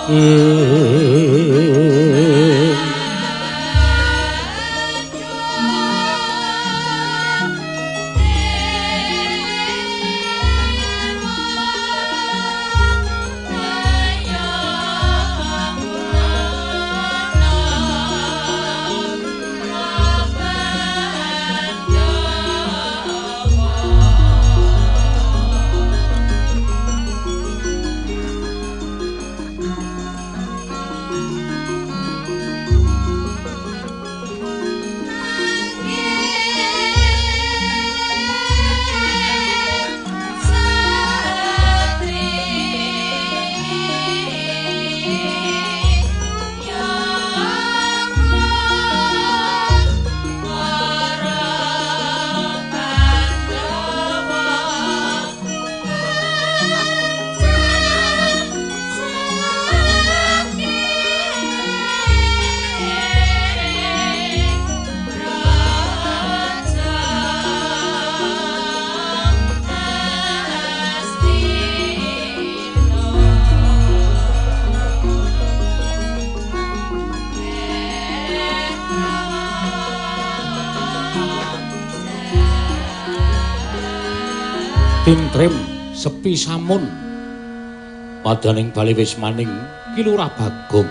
Tintrim sepi samun padaning bali wis maning Ki Lurah Bagong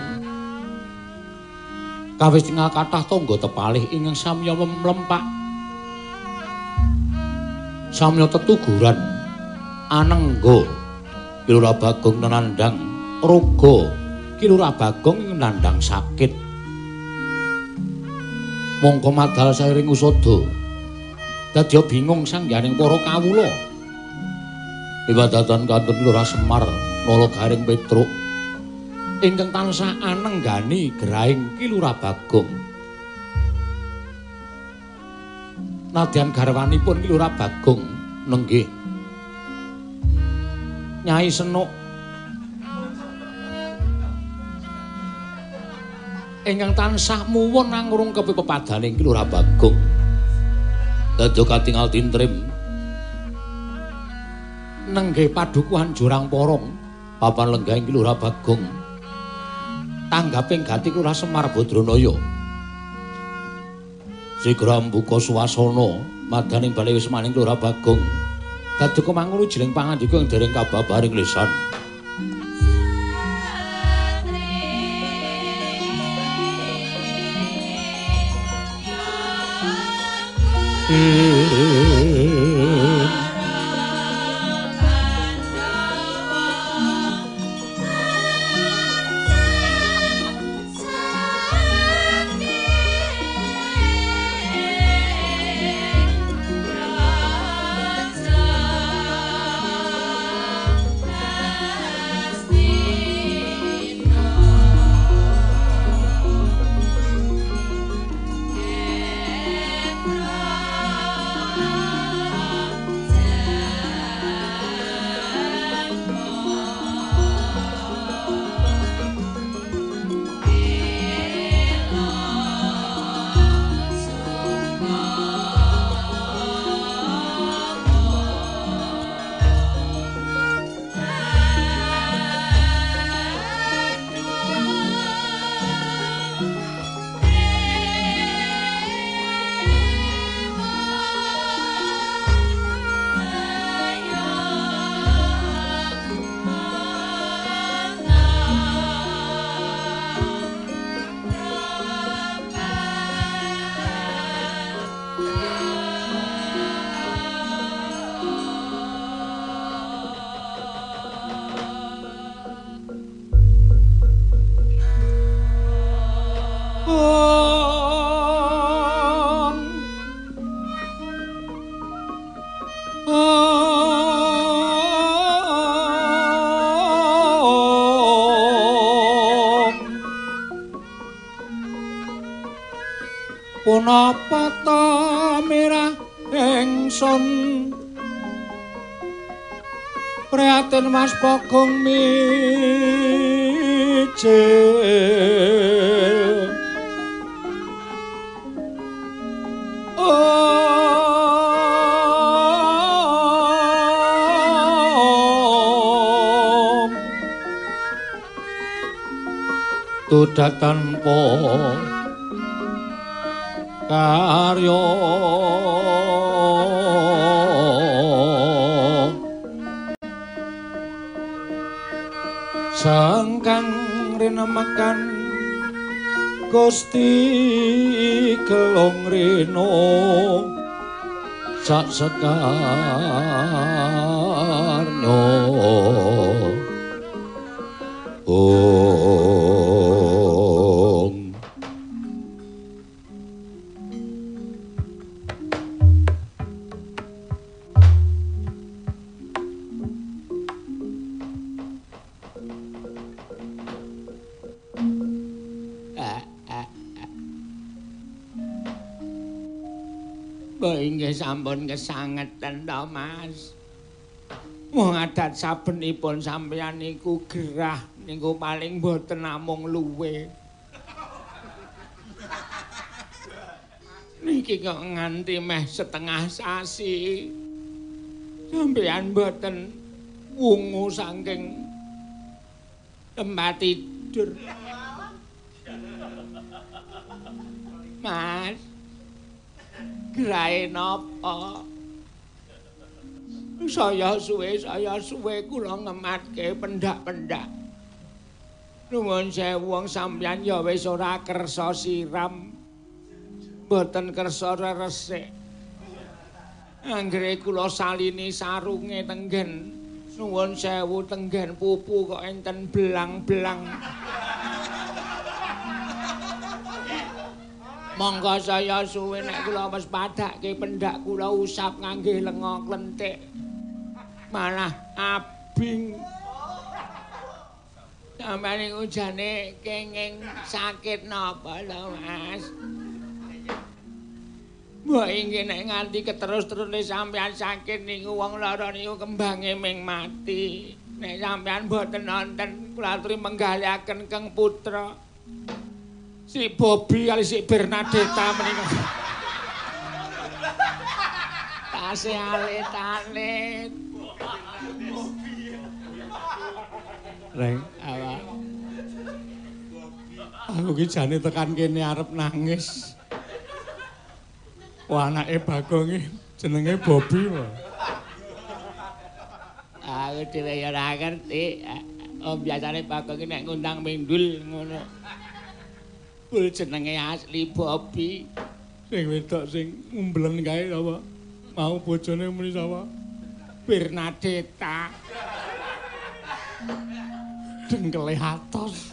kawis tinggal kathah tangga tepalih ingkang samya mlempak samya tetuguran anengga Ki Lurah Bagong nenandang raga Ki Lurah Bagong ing nandhang sakit mongko madal sairing usada dadya bingung sangganing para kawula Iwadatan kantun Lurah Semar Nalagaring Petruk ingkang tansah anenggani gerahing Ki Lurah Bagong. Nadyan garwanipun Ki Lurah Bagong nenggih Nyai Senuk ingkang tansah muwun nangurung kepepadaning Ki Lurah Bagong. Dadya katingal tintrim nenggih padukuhan Jurang Porong papan lenggahing Ki Lurah Bagong tanggaping gati Lurah Semar Badranaya sigra mbuka swasana madaning bali wis maning Lurah Bagong dadi kemangun jiling pangandika ing dereng kababaring lisan punapa ta mirah ingsun prihatin Mas Bagong mijil tudak tanpa karya sangkang rinemakan Gusti kelong rino sak sekarno Om Inggih sampun kesangeten to, Mas. Wong adat sabenipun sampeyan niku gerah niku paling boten namung luwe. Niki kok nganti meh setengah sasi. Sampeyan boten wungu saking tempat tidur. Mas, gerahe napa? Saya suwe kula ngematke pendak-pendak. Nuwun sewu wong sampeyan ya wis ora kersa siram. Mboten kersa resik. Anggere kula salini sarunge tenggen. Nuwun sewu tenggen pupu kok enten belang-belang. Monggo saya suwe nek kula wis padhake pendak kula usap ngangge lenga klenthik. Malah abing. Sampeyan niku jane kenging sakit napa lho, Mas? Mbok inggih nek nganti keterus-terusne sampeyan sakit niku wong lara niku kembange ming mati. Nek sampeyan mboten nonton kula aturi menggalihaken Kang Putra. Si Bobby kali si Bernadetta menika. Tasih alit-alit. Reng, awak. Aku ki jane tekan kene arep nangis. Wah, anake Bagong iki jenenge Bobby wae. Aku dhewe ya ora ngerti. Biasane Bagong iki nek ngundang mindul ngono. Kul jenenge asli Bobby. Sing wedok sing ngumblen kae apa? Mau bojone muni sapa? Bernadetta. Dengkele atos.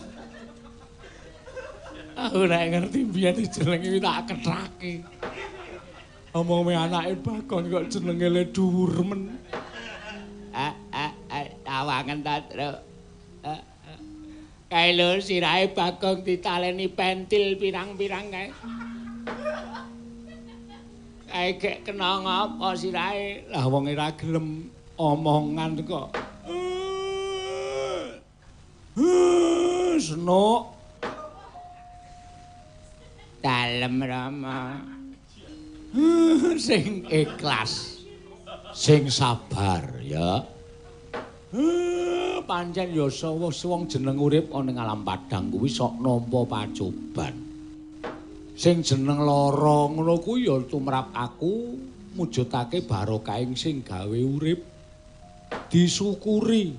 Aku nek ngerti biyen jenenge tak kethake. Omong me anake Bagong kok jenenge le dhuwur men. Awangen ta, Truk. Kae lho sirahe Bagong ditaleni pentil pirang-pirang kae. Kae gek kena ngapa sirahe? Lah wong ora gelem omongan kok. Senuk. Dalem Rama. Sing ikhlas. Sing sabar ya. Pancen ya wong jeneng urip ana ing alam padang kuwi sok nampa pacoban. Sing jeneng lara ngono kuwi ya tumrap aku mujudake barokah sing gawe urip disyukuri.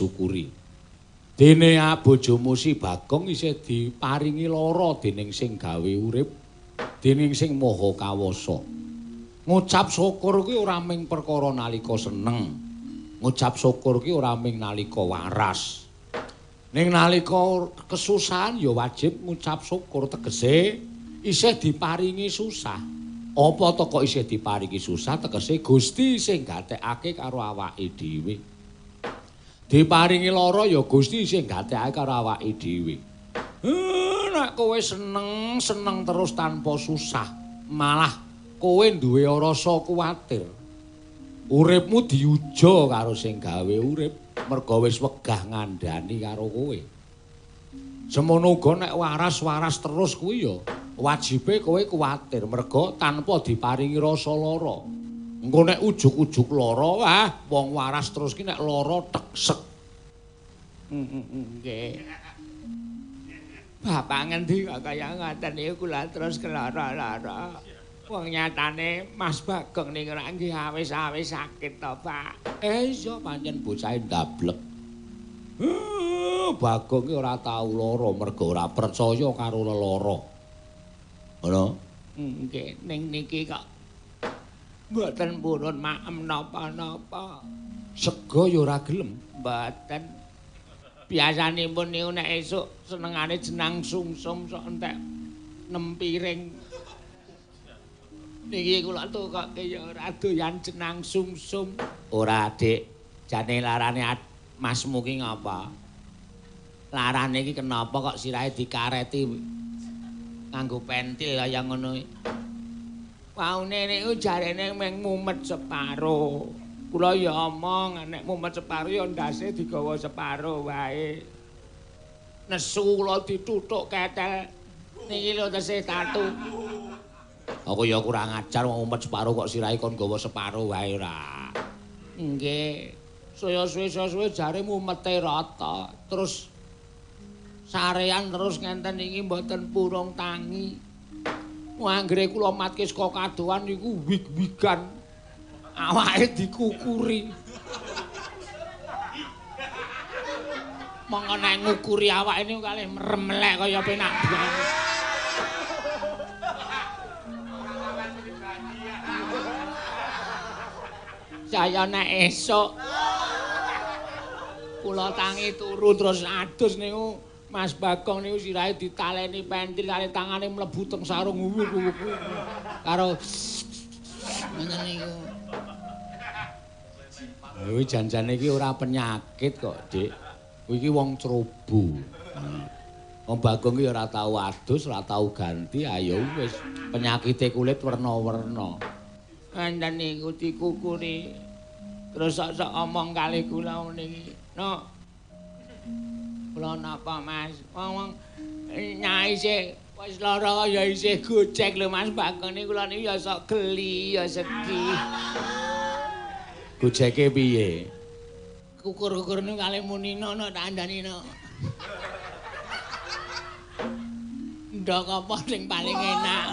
Dene bojomu si Bagong isih diparingi lara dening sing gawe urip, dening sing maha kawasa. Ngucap syukur kuwi ora mung perkara nalika seneng. Ngucap syukur ki ora mung nalika waras. Ning nalika kesusahan ya wajib ngucap syukur tegese isih diparingi susah. Apa to kok isih diparingi susah tegese Gusti sing gatekake karo awake dhewe. Diparingi lara ya Gusti sing gatekake karo awake dhewe. Nek kowe seneng terus tanpa susah, malah kowe duwe rasa kuwatir. Uripmu diuja karo sing gawe urip, merga wis wegah ngandhani karo kowe. Semono uga nek waras-waras terus kuwi ya wajibe kowe kuwatir, merga tanpa diparingi rasa lara. Engko nek ujug-ujug lara, wah wong waras terus ki nek lara teksek. Nggih. Bapak ngendi kok kaya ngoten niku kula terus kelara-lara. Wong nyatane Mas Bagong niku rak nggih awis-awis sakit to, Pak. Iya pancen bocahe ndablek. Bagong ki ora tau lara mergo ora percaya karo lelara. Ngono? Nggih, ning niki kok mboten purun maem napa-napa. Sega ya ora gelem. Mboten. Biasanipun niku nek esuk senengane jenang sumsum sok entek 6 piring. Niki kula tukoke ya ora doyan jenang sumsum. Ora, Dik. Jane larane Masmu ki ngapa? Larane iki kenapa kok sirahe dikareti nganggo pentil kaya ngono? Waune niku jarene meng mumet separo. Kula ya omong nek mumet separo ya ndase digawa separo wae. Nesu kula dituthuk ketel. Niki lho tesih tatu. Aku ya kurang ajar wong mumet separo kok sirahe kon gawa separo wae ora. Nggih. Saya suwe-suwe jare mumete rata. Terus sarean terus ngenten iki mboten purung tangi. Anggere kula matke saka kadohan niku wig-wigan. Awake dikukuri. Monggo nek ngukuri awake niku kalih mremelek kaya penak banget. Saya nek esuk kula tangi turu terus adus niku Mas Bagong niku sirahe ditaleni pentil kali tangane mlebu teng sarung karo ngene niku. Kuwi janjane iki ora penyakit kok, Dik. Kuwi iki wong cerobo. Wong Bagong iki ora tau adus, ora tau ganti, ayo wis penyakite kulit werna-werna. Enten niku dikukuri. Terus sok-sok omong kali kula niki. No. Kula napa, Mas? Wong nyai sih wis lara ya isih gojek lho Mas Bagong niku kula niku ya sok geli ya sedih. Gojeke piye? Kukur-kukur niku kali munina no tak andani no. Ndok apa sing paling enak?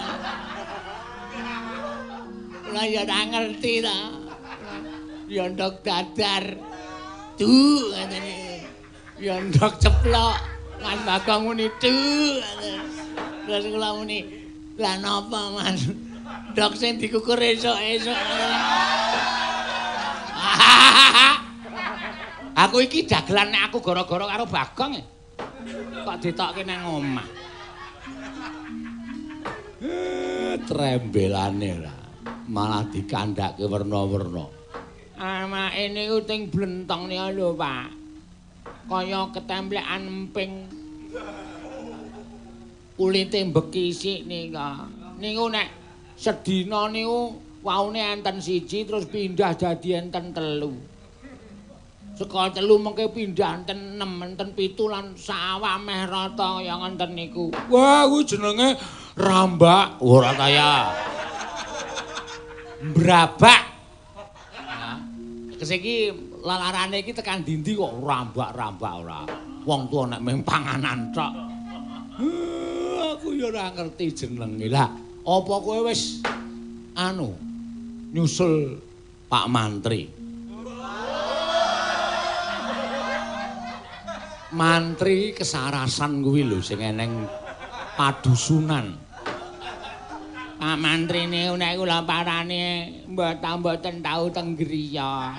Kula ya ora ngerti ta. Ya ndok dadar. Duh ngene. Ya ndok ceplok. Mas Bagong muni duh. Terus kula muni, "Lah napa, Mas? Ndok sing dikukur esuk-esuk." Aku iki dagelan nek aku gara-gara karo Bagong. Kok ditokke nang omah. Trembelane lah. Malah dikandhake werna-werna. Amake niku ting blentong niku lho, Pak. Kaya ketemplekan emping. Kulite mbekisik nika. Niku nek sedina niku waune enten siji terus pindah dadi enten telu. Saka telu mengke pindah enten 6, enten 7 lan sawah meh rata kaya ngenten niku. Wah, kuwi jenenge rambak. Ora kaya brabak. Kesiki lalarane iki tekan dindi kok rambak-rambak ora. Wong tuwa nek mung panganan tok. Aku ya ora ngerti jenenge. Lah, apa kowe wis nyusul Pak Mantri? Mantri kesarasan kuwi lho sing eneng padusunan. Pak Mantri niku nek kula parani mboten tau teng griya.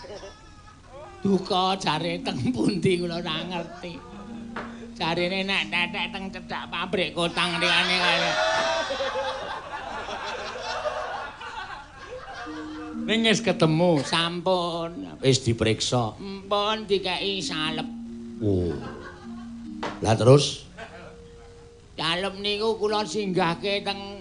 Duka jare teng pundi kula ora ngerti. Jarine nek tetek teng cedhak pabrik kotang liyane kaya. Ning wis ketemu, Sampun. wis diperiksa. Mpun dikeki salep. Oh. Lah terus Salep niku kula singgahke teng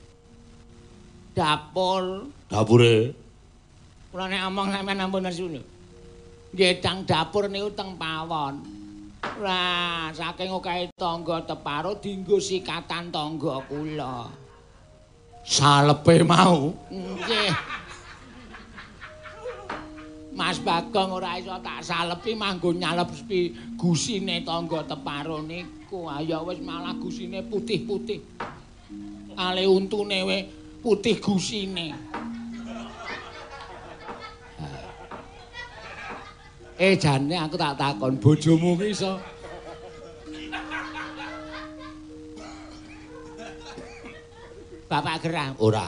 dapur. dapure Kula nek omong sampeyan ampun nesu lho. Nggih teng dapur niku teng pawon. Lah saking okehe tangga teparo dienggo sikatan tangga kula. salepe mau. Nggih. Mas Bagong ora iso tak salepi manggo nyalepi gusine tangga teparo niku. Ya wis malah gusine putih-putih. Ale untune we putih gusine. Jane aku tak takon bojomu ki iso Bapak Gerah ora.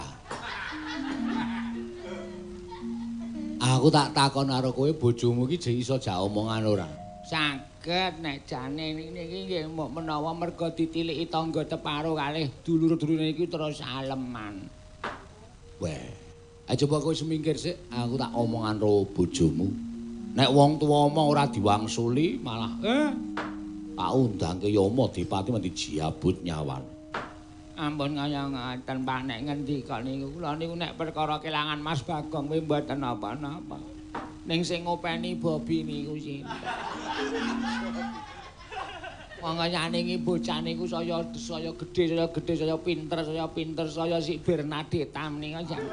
Aku tak takon karo kowe bojomu ki iso jak omongan ora? Saged nek jane niki nggih menawa merga ditiliki tangga teparo kalih dulur-dulure iki terus aleman. Weh, coba kowe semingkir sik, aku tak omongan karo bojomu. Nek wong tuwa omong ora diwangsuli malah tak undangke Yama Dipati mesti jiabut nyawane. Ampun kaya ngaten Pak nek ngendika niku kula niku nek perkara kelangan Mas Bagong kuwi mboten napa-napa. Ning sing ngopeni Bobi niku sinten. Wong kaya ningi bocah niku saya gedhe, saya pinter, saya sik Bernadette menika jan.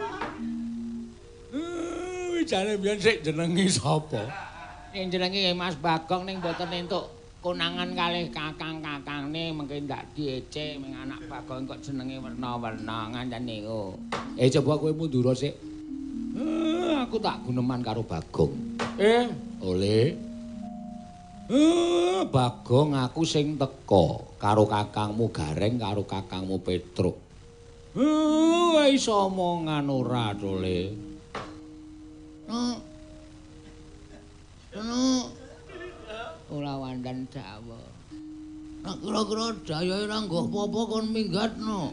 Jane biyen sik jenenge sapa? Ning jenenge Mas Bagong ning mboten entuk konangan kalih kakang-kakangne mengke ndak diece ming anak Bagong kok jenenge werna-werna ngancen niku. Coba kowe mundur sik. Aku tak guneman karo Bagong. Oleh. Bagong aku sing teka karo kakangmu Gareng karo kakangmu Petruk. Iso omongan ora to, Le. Ora wandan Jawa. Nek kira-kira dayae ora nggo apa-apa kon minggatno.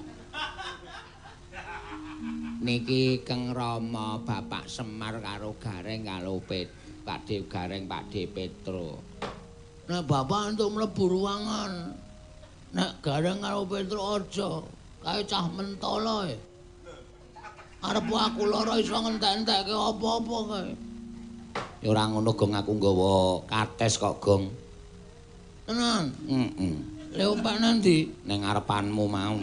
Niki Keng Rama Bapak Semar karo Gareng karo Pakde Gareng Pakde Petro. Nek bapak entuk mlebu ruangan. Nek Gareng karo Petro aja, kae cah mentala e. Arep aku lara iso ngentek-entekke apa-apa kae. Ya ora ngono Gong aku nggawa kates kok Gong. Tenan? Lha opak nanti ning ngarepanmu mau.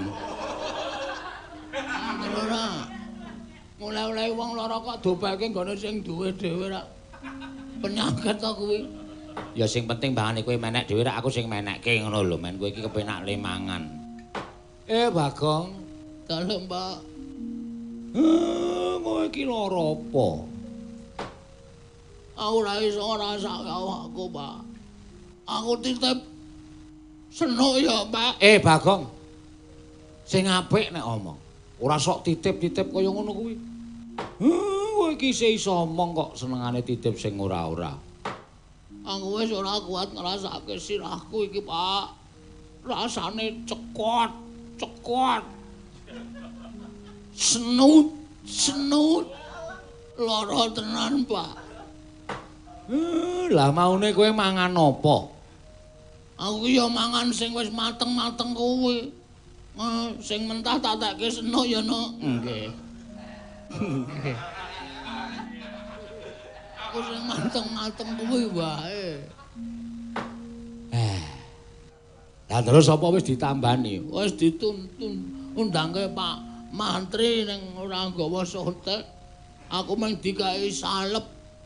Ora. Mulai-mulai wong lara kok dobake nggone sing duwe dhewe ra. Penyakit to kuwi. Ya sing penting mbangane kowe menek dhewe ra aku sing menekke ngono lho men kowe iki kepenak le mangan. Bagong. Dalem, Pak. Kowe iki lara apa? Aku ora iso ngrasake awakku, Pak. Aku titip senuk ya, Pak. Bagong. Sing apik nek omong. Ora sok titip-titip kaya ngono kuwi. Kowe iki iso omong kok senengane titip sing ora-ora. Aku wis ora kuat ngrasake sirahku iki, Pak. Rasane cekot. Senut. Lara tenan, Pak. Lah maune kowe mangan apa? Aku ya mangan sing wis mateng-mateng kuwi. Sing mentah tak tekke senuk ya, Nuk. Nggih. Aku sing mateng-mateng kuwi wae. Lah terus apa wis ditambani? Wis dituntun undangke Pak Mantri ning ora nggawa sotek. Aku mung dikai salep.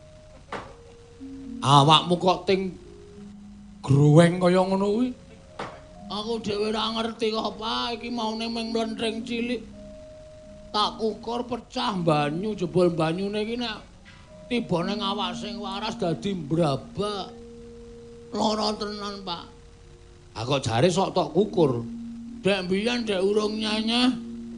Awakmu kok ting gruweng kaya ngono kuwi? Aku dhewe ora ngerti kok, Pak. Iki maune mung mlentring cilik. Tak kukur pecah banyu, jebul banyune iki nek tiba ning awak sing waras dadi mbrabak. Lara tenan, Pak. Kok jare sok tok kukur. Dek mbiyen dek urung nyanyah.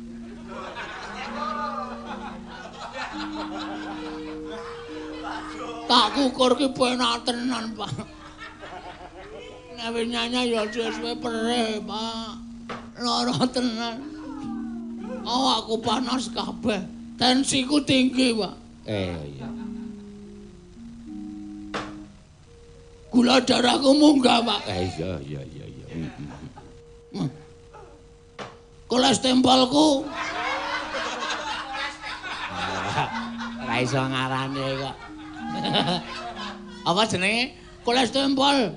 Tak kukur ki penak tenan, Pak. Nek wis nyanyah ya suwe perih, Pak. Lara tenan. Aku panas kabeh. Tensiku tinggi, Pak. Iya. Gula darahku munggah, Pak. Iya. Kolesterolku. Ora iso ngarane kok. Apa jenenge? Kolesterol.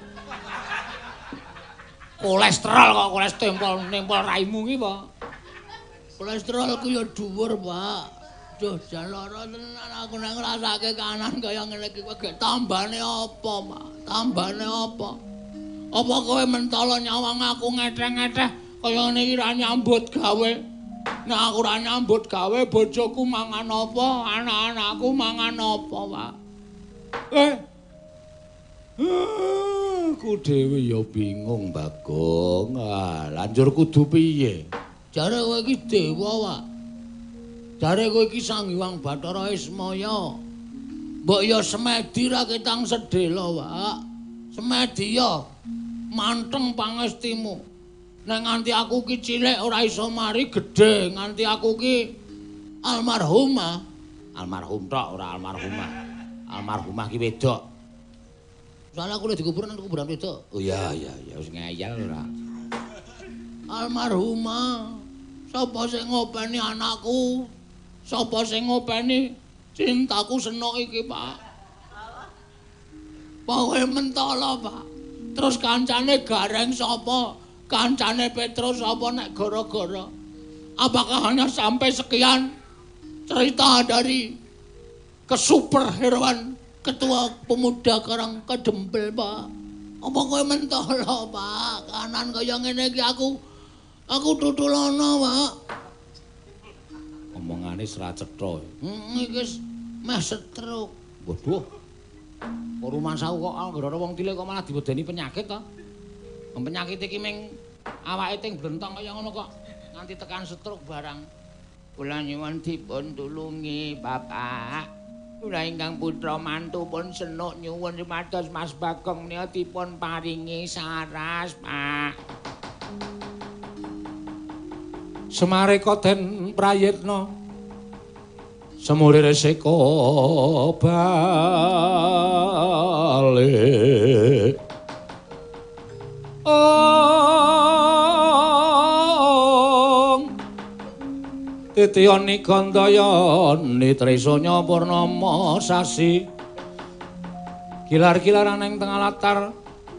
Kolesterol kok kolesterol nempel raimu ki, Pak. Kolesterolku ya dhuwur, Pak. Duh, jan lara tenan aku nek ngrasake kanan kaya ngene iki kowe tambane apa, Pak? Tambane apa? Apa kowe mentolo nyawang aku ngeteh-ngeteh kaya ngene iki ra nyambut gawe? Nek aku ra nyambut gawe bojoku mangan apa? Anak-anakku mangan apa, Pak? Aku dhewe ya bingung, Bagong. Lanjur kudu piye? Jare kowe iki dewa, Pak. Jare kowe iki Sang Hyang Bathara Ismaya. Mbok ya semedi ra ketang sedhela, Pak. Semedi ya manteng pangestimu. Nek nganti aku ki cilik ora iso mari gedhe, nganti aku ki almarhumah. Almarhum tok ora almarhumah. Almarhumah ki wedok. Soale aku lek dikubur nang kuburan wedok. Oh iya wis ngeyel ora. Almarhumah. Sapa sing ngopeni anakku? Sapa sing ngopeni cintaku senok iki, Pak? Kowe mentala, Pak. Terus kancane Gareng sapa? Kancane Petrus sapa nek gara-gara? Apakah hanya sampai sekian cerita dari kesuperheroan Ketua Pemuda Karang Kedempel, Pak? Apa kowe mentala, Pak? Kanan kaya ngene iki aku tutulono, Pak. Omongane ora cetha. Iki meh stroke. Waduh. Rumah sawu kok anggere wong cilik kok malah diwedeni penyakit to. Penyakit iki ming awake ting blentong kaya ngono kok nganti tekan stroke barang. Kula nyuwun dipun tulungi, Bapak. Kula ingkang putra mantu pun senuk nyuwun supados Mas Bagong menika dipun paringi saras, Pak. Semareka den prayitna semulir seka bali Titiyani Gandayani Trisanya Purnama sasi kilar-kilaran ing tengah latar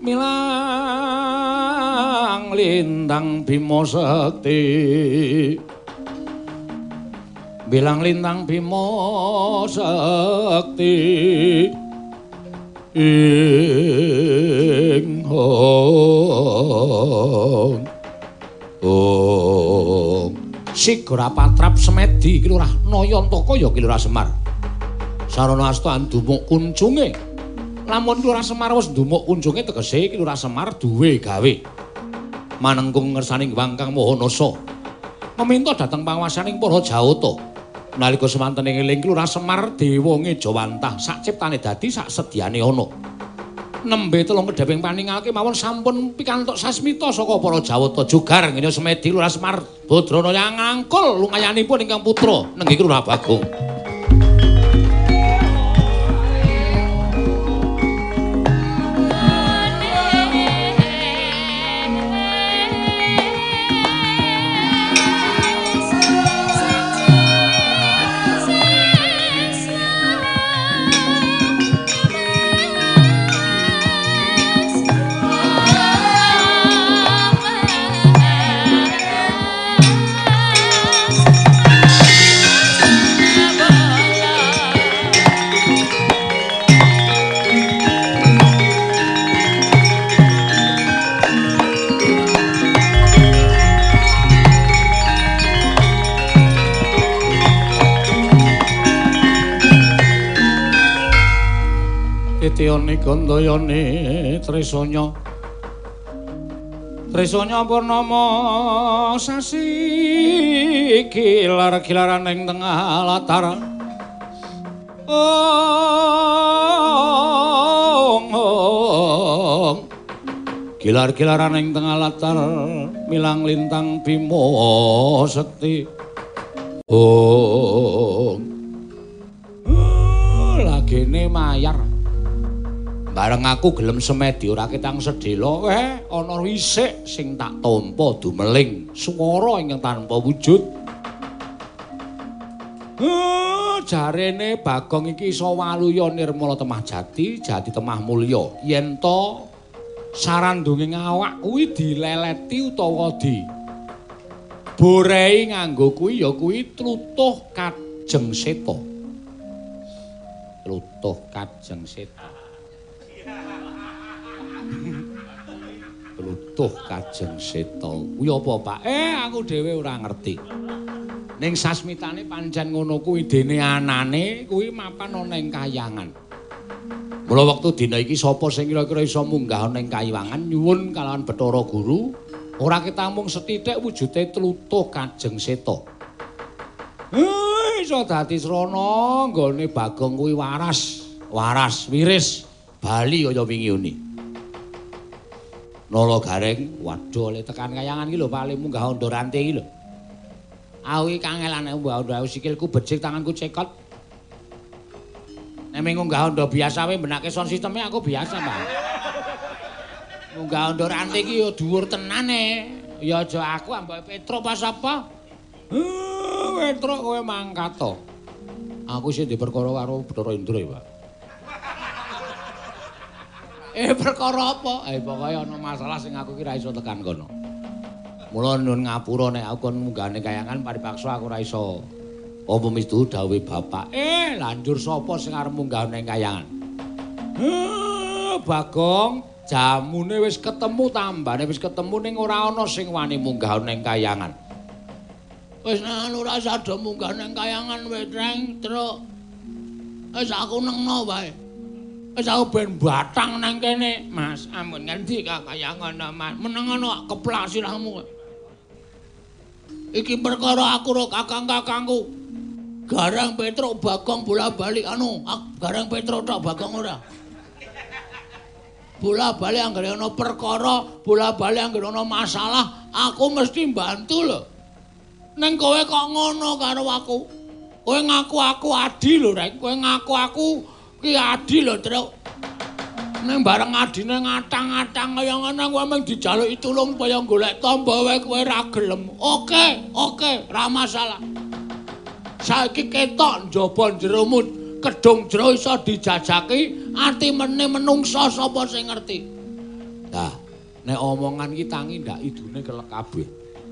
milang lintang Bima Sekti bilang lintang Bima Sekti ing Sigara Patrap Semedi Kilurah Nayantaka ya Kilurah Semar sarana asta ndumuk kunjunge lamun Kilurah Semar wis ndumuk kunjunge tegese Kilurah Semar duwe gawe manengkung ngersani Wangkang Mahanasa meminta dhateng panguwasaning para Jawata nalika semanten eling Kilurah Semar dewa Ngejawantah sak ciptane dadi sak sedyane ana nembe telung kedheping paningalke mawon sampun pikantuk sasmita saka para Jawata jugar ngene Semedi Kilurah Semar Badrana yang ngangkul lumayanipun ingkang putra nenggih Kilurah Bagong. Titiyani Gandayani Trisanya Purnama sasi kilar-kilaran ing tengah latar kilar-kilaran ing tengah latar milang lintang Bima Sekti lagene mayar bareng aku gelem Semedi ora ketang sedhela ana wisik sing tak tampa dumeling swara ingkang tanpa wujud jarene Bagong iki iso waluya nirmala temah jati temah mulya yen to sarandunging awak kuwi dileleti utawa di borei nganggo kuwi ya kuwi tlutuh Kajeng Seta. Tlutuh Kajeng Seta. Tlutuh Kajeng Seta. Kuwi apa, Pak? Aku dhewe ora ngerti. Ning sasmitane pancen ngono kuwi dene anane kuwi mapan ana ing kahyangan. Mula wektu dina iki sapa sing kira-kira iso munggah ana ing kahyangan nyuwun kalawan Bathara Guru ora ketamung sethithik wujude tlutuh Kajeng Seta. Iso dadi srana nggone Bagong kuwi waras, wiris, bali kaya wingi uni. Nala Gareng, waduh le tekan kahyangan iki lho Pak le munggah Anda Ranti iki lho. Aku iki kangelane mbah sikilku becik tanganku cekot. Nek munggah Anda biasa wae benake sound sisteme aku biasa, Mbak. Munggah Anda Ranti iki ya dhuwur tenane. Ya aja aku ambek Petro pas apa? Petro kowe mangkat to. Aku sing diperkara karo Bathara Indra ya, Pak. Perkara apa? Pokoke ana masalah sing aku ki ra iso tekan kono. Mula nyuwun ngapura nek aku kon munggahane kayangan paripaksa aku ora iso. Apa mistu dawuhe bapak? Lanjur sapa sing arep munggah ning kayangan? Bagong, jamune wis ketemu tambane wis ketemu ning ora ana sing wani munggah ning kayangan. Wis anu ora sada munggah ning kayangan wetreng, Truk. Wis aku nengno wae. Wis aku ben batang nang kene, Mas. Ampun ngendi kayangan, Mas? Meneng ana keplak sirahmu. Iki perkara aku karo kakang-kakangku. Garang Petro Bagong bola-bali Garang Petro tok Bagong ora. Bola-bali anggere ana perkara, bola-bali anggere ana masalah, aku mesti bantu lho. Ning kowe kok ngono karo aku. Kowe ngaku aku adi lho, Rek. Kowe ngaku aku ki adi lho, Truk. Ning bareng adine ngatang-atang kaya ngono kowe mung dijaluki tulung kaya golek tamba wae kowe ra gelem. Oke, ra masalah. Saiki ketok njaba jeromu kedung jero iso dijajaki, ati meneh menungsa sapa sing ngerti. Nah, nek omongan iki tangi ndak idune kelek kabeh.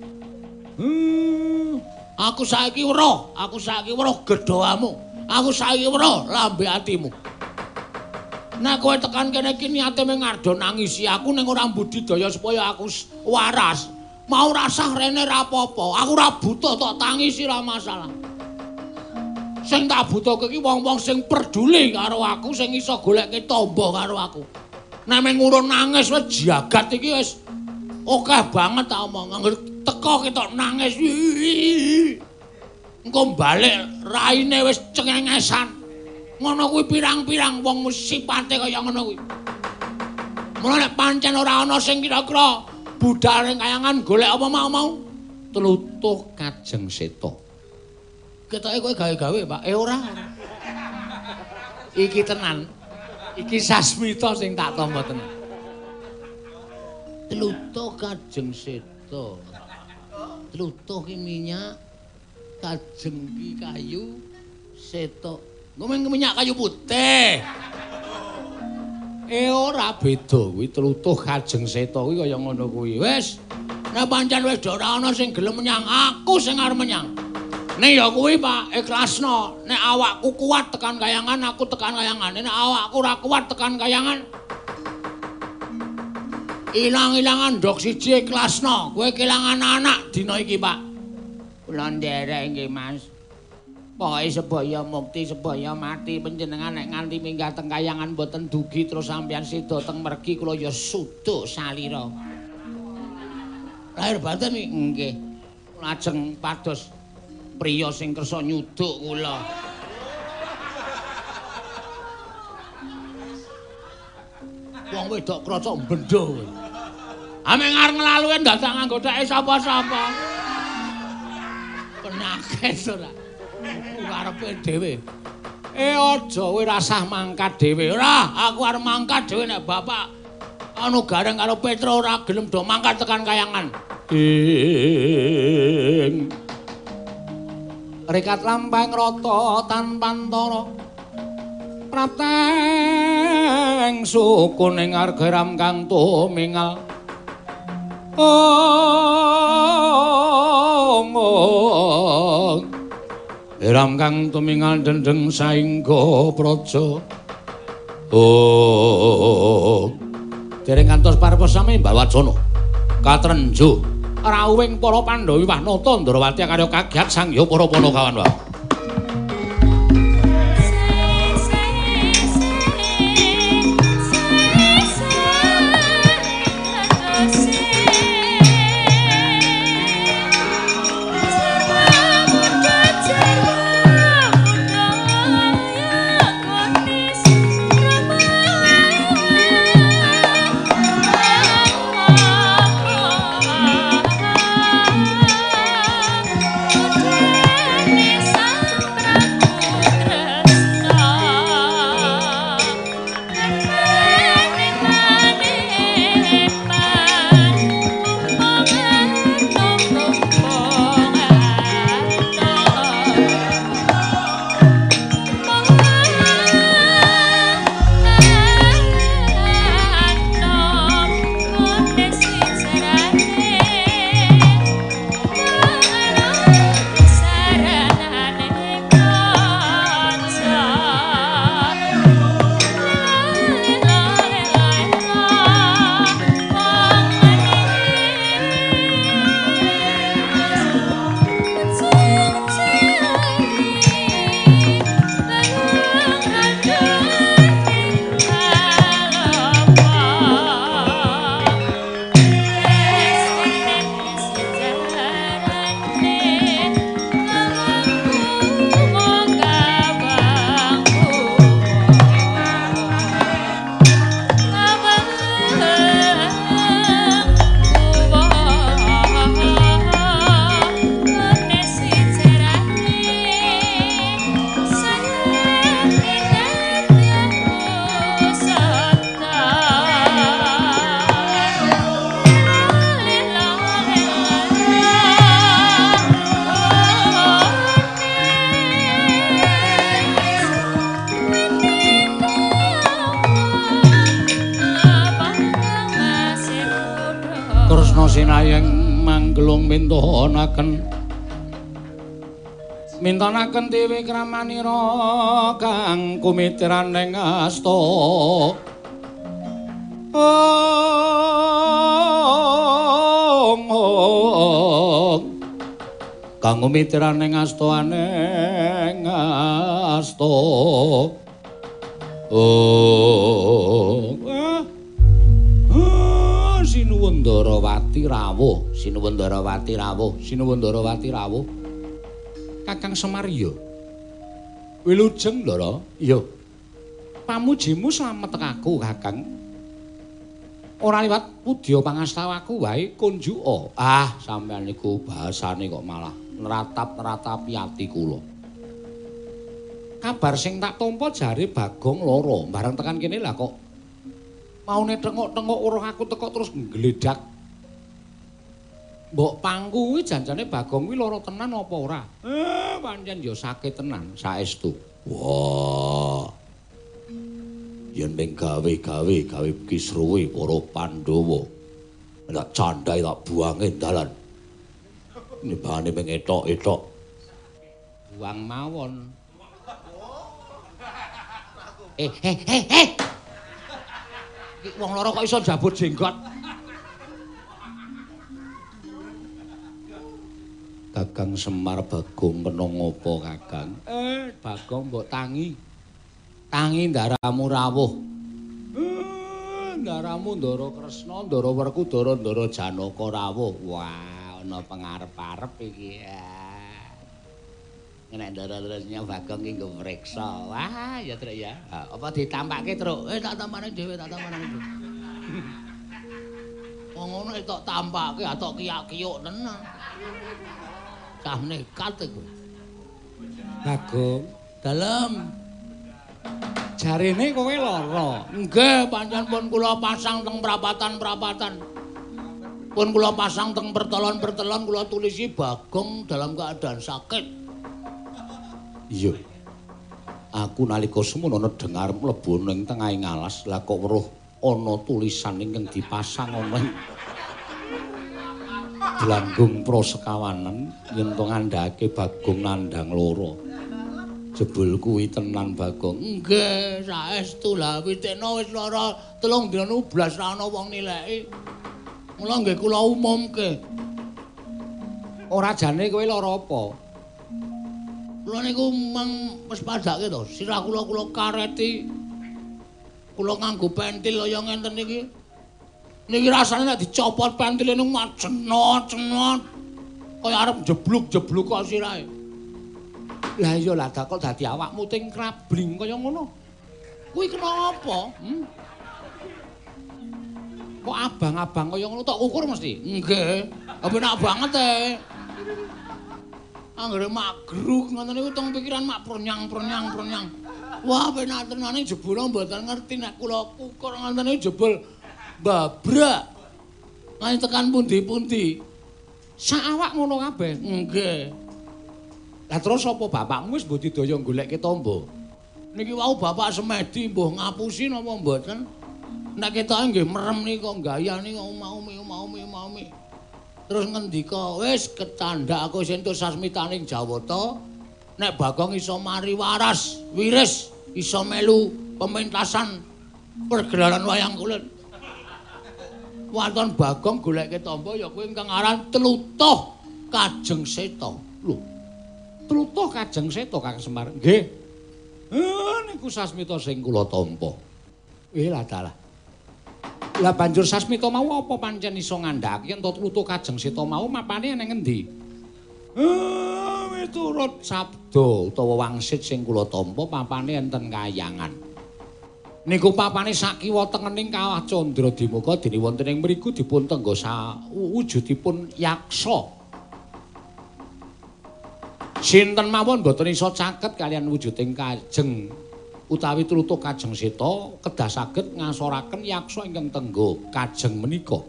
Aku saiki weruh gedhoamu. Aku saiki weruh lambe atimu. Nek kowe tekan kene iki niate mung ngardo nangisi aku ning ora budidaya supaya aku waras. Mau rasah rene ra apa-apa. Aku ora butuh tok tangisi ra masalah. Sing tak butuhke iki wong-wong sing peduli karo aku, sing iso goleke tamba karo aku. Nek mung ngurun nangis wis jagat iki wis akeh banget tak omong. Angger teko ketok nangis. Engko balik raine wis cengengesan. Ngono kuwi pirang-pirang wong sipate kaya ngono kuwi. Mula nek pancen ora ana sing kira-kira budal ning kayangan golek apa mau tlutuh Kajeng Seta. Ketoke kowe gawe-gawe, Pak. Ora. Iki tenan. Iki sasmita sing tak tampa tenan. Tlutuh Kajeng Seta. Tlutuh ki minyak, Kajeng ki kayu, Seta ngomong minyak kayu putih. Ora beda kuwi tlutuh Kajeng Seta kuwi kaya ngono kuwi. Wis, nek pancen wis ora ana sing gelem menyang, aku sing arep menyang. Nek ya kuwi Pak, ikhlasno. Nek awakku kuat tekan kayangan, aku tekan kayangan. Nek awakku ora kuat tekan kayangan, ilang-ilangan ndok siji ikhlasno. Kowe kelangan anak dina iki, Pak. Kula nderek nggih, Mas. Pokoke sebaya mukti, sebaya mati panjenengan nek nganti minggah teng kayangan mboten dugi terus sampeyan sida teng mergi kula ya suduk salira. Lahir batin nggih. Lajeng pados priya sing kersa nyuduk kula. Wong wedok krasa bendho kowe. Ame ngarep nglaluwe dadak nganggothake sapa-sapa. Penyakit ora. Karepe dhewe. Aja kowe rasah mangkat dhewe. Ora, aku arep mangkat dhewe nek bapak anu Gareng karo Petro ora gelem do mangkat tekan kayangan. Rekat lampahing rata tanpa antara. Prateng suku ning argeram kang tumingal. Iram kang tumingal dendeng saingga praja. Oh. Dereng kantos parepos sami Mbak Wacana. Katrenjo rawuhing para Pandhawa Wanata Ndrawati karya kagiat sangya para Panakawan wae. Mintanaken dewe kramanira kang kumitraning asta. Kang kumitraning astaning asta. Sinuwundarawati rawuh, Sinuwundarawati rawuh, Sinuwundarawati rawuh. Kakang Semar iya. Wilujeng Ndara. Iya. Pamujimu slamet aku, Kakang. Ora liwat pudya pangastawaku wae kunjuka. Ah, sampeyan niku bahasane kok malah neratap-neratapi ati kula. Kabar sing tak tampa jare Bagong lara, bareng tekan kene lah kok maune tengok-tengok urung aku teko terus nggledak. Mbok pangku kuwi janjane Bagong kuwi lara tenan apa ora? Pancen ya sakit tenan saestu. Wah. Yen ning gawe-gawe kisruwe para Pandhawa. Tak candhae tak buange dalan. Nibane ping etok-etok. Buang mawon. Iki wong lara kok iso jabut jenggot. Kakang Semar Bagong kena ngopo, Kakang? Bagong mbok tangi. Tangi ndaramu rawuh. Ndaramu Ndara Kresna, Ndara Werkudara, Ndara Janaka rawuh. Wah, ana pengarep-arep iki. Nek Ndara terusnya Bagong ki nggo mriksa. Wah, ya Truk ya. Apa ditampake, Truk? Tak tampane dhewe, tak tampane dhewe. Wong ngono tok tampake, atok kiyak-kiyuk tenan. Cah nekat iku. Bagong, dalem. Jarene kowe lara. Nggih, pancen pun kula pasang teng prapatan-prapatan. Pun kula pasang teng pertelon-pertelon kula tulisi Bagong dalam keadaan sakit. Iya. Aku nalika semono dengar mlebu ning tengahing alas, lah kok weruh ana tulisan ingkang dipasang ana Blanggung Prosekawanen yen to ngandhake Bagong nandhang lara. Jebul kuwi tenan Bagong. Nggih, saestu lah witekno wis lara 3 dina blas ra ana wong nileki. Mula nggih kula umumke. Ora jane kowe lara apa? Kula niku mang wis padake to, sirah kula kareti. Kula nganggo pentil kaya ngenten iki. Niki rasane nek dicopot pentile niku macenot-cenot. Kaya arep jebluk-jebluk kok sirahe. Lah iya lah kok dadi awakmu ting krabling kaya ngono. Kuwi kenapa? Kok abang-abang kaya ngono tok ukur mesti? Nggih. Penak banget Anggere magruk ngoten niku teng pikiran mak pronyang. Wah, penak tenane jebul mboten ngerti nek kula ukur ngoten niku jebul babrak. Nganti tekan pundi-pundi. Sak awak ngono kabeh. Nggih. Lah terus apa bapakmu wis mbok didaya goleke tombo? Niki wau bapak semedi mbuh ngapusi napa mboten? Nek ketoke nggih merem nika gayane kok umaumi. Terus ngendika, wis ketandak aku sentuh sasmitaning Jawata. Nek Bagong iso mari waras, wiris, iso melu pementasan pergelaran wayang kulit. Waton Bagong goleke tombo ya kuwi ingkang aran Tlutuh Kajeng Seta. Lho. Tlutuh Kajeng Seta Kang Semar. Nggih. Niku sasmita sing kula tampa. Lah dalah. Lah banjur sasmita mau apa pancen iso ngandhaki yen Tlutuh Kajeng Seta mau mapane nang endi? Miturut sabda utawa wangsit sing kula tampa papane enten Kahyangan. Niku papane sakiwa tengening Kawah Candradimaka dene wonten ing mriku dipun tenggo wujudipun yaksa. Sinten mawon boten iso caket kalian wujuding Kajeng utawi Tlutuh Kajeng Seta kedah saged ngasoraken yaksa ingkang tenggo Kajeng menika.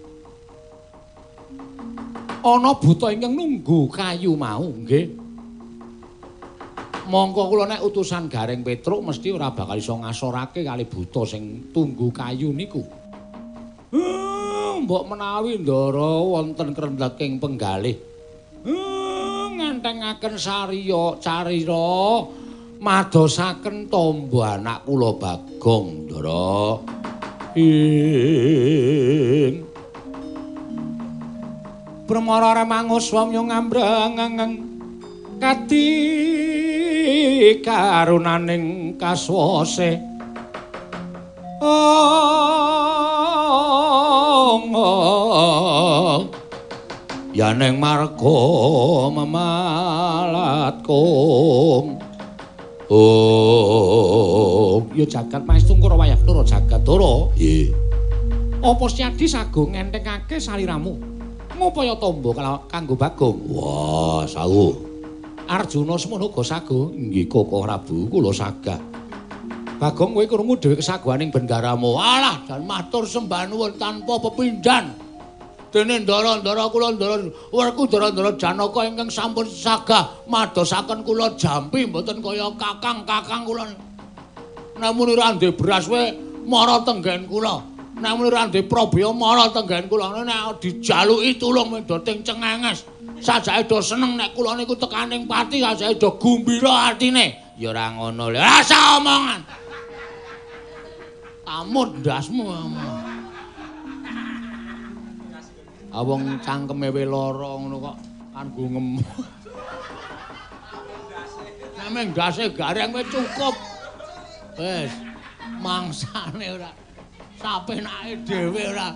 Ana buta ingkang nunggu kayu mau, nggih. Mongko kula nek utusan Garing Petruk mesti ora bakal iso ngasorake kali buta sing tunggu kayu niku. Mbok menawi ndara wonten krendeking penggalih. Ngentengaken sariya carira madosaken tombo anak kula Bagong, Ndara. Pramara mangus wamya ngambrang kati karunaning kaswase. Yaneng marga mamalatkum. Ya jagat maestungkara wayah-tura jagatara. Nggih. Apa Siadi sago ngentengake saliramu? Ngupaya tombo kanggo Bagong? Wah, sawuh. Arjuna semono uga sago. Nggih Koko Prabu, kula sagah. Bagong kowe krungu dhewe kesaguhaning bendaramu. Alah, dan matur sembah nuwun tanpa pepindhan. Dene ndara-ndara kula ndara werku ndara-ndara Janaka ingkang sampun sagah madosaken kula jampi mboten kaya kakang-kakang kula. Namun ora ndek beras we mara tenggen kula. Namun ora ndek probaya mara tenggen kula. Nek dijaluki tulung medoting cengenges. Sajake do seneng nek kula niku tekaning pati sajake do gumbira atine. Ya ora ngono lho. Rasa omongan. Amut ndasmu. Awong cangkeme we lara ngono kok kan gungem. Nameng ndase gareng wis cukup. Wis mangsane ora sapenake dhewe ora.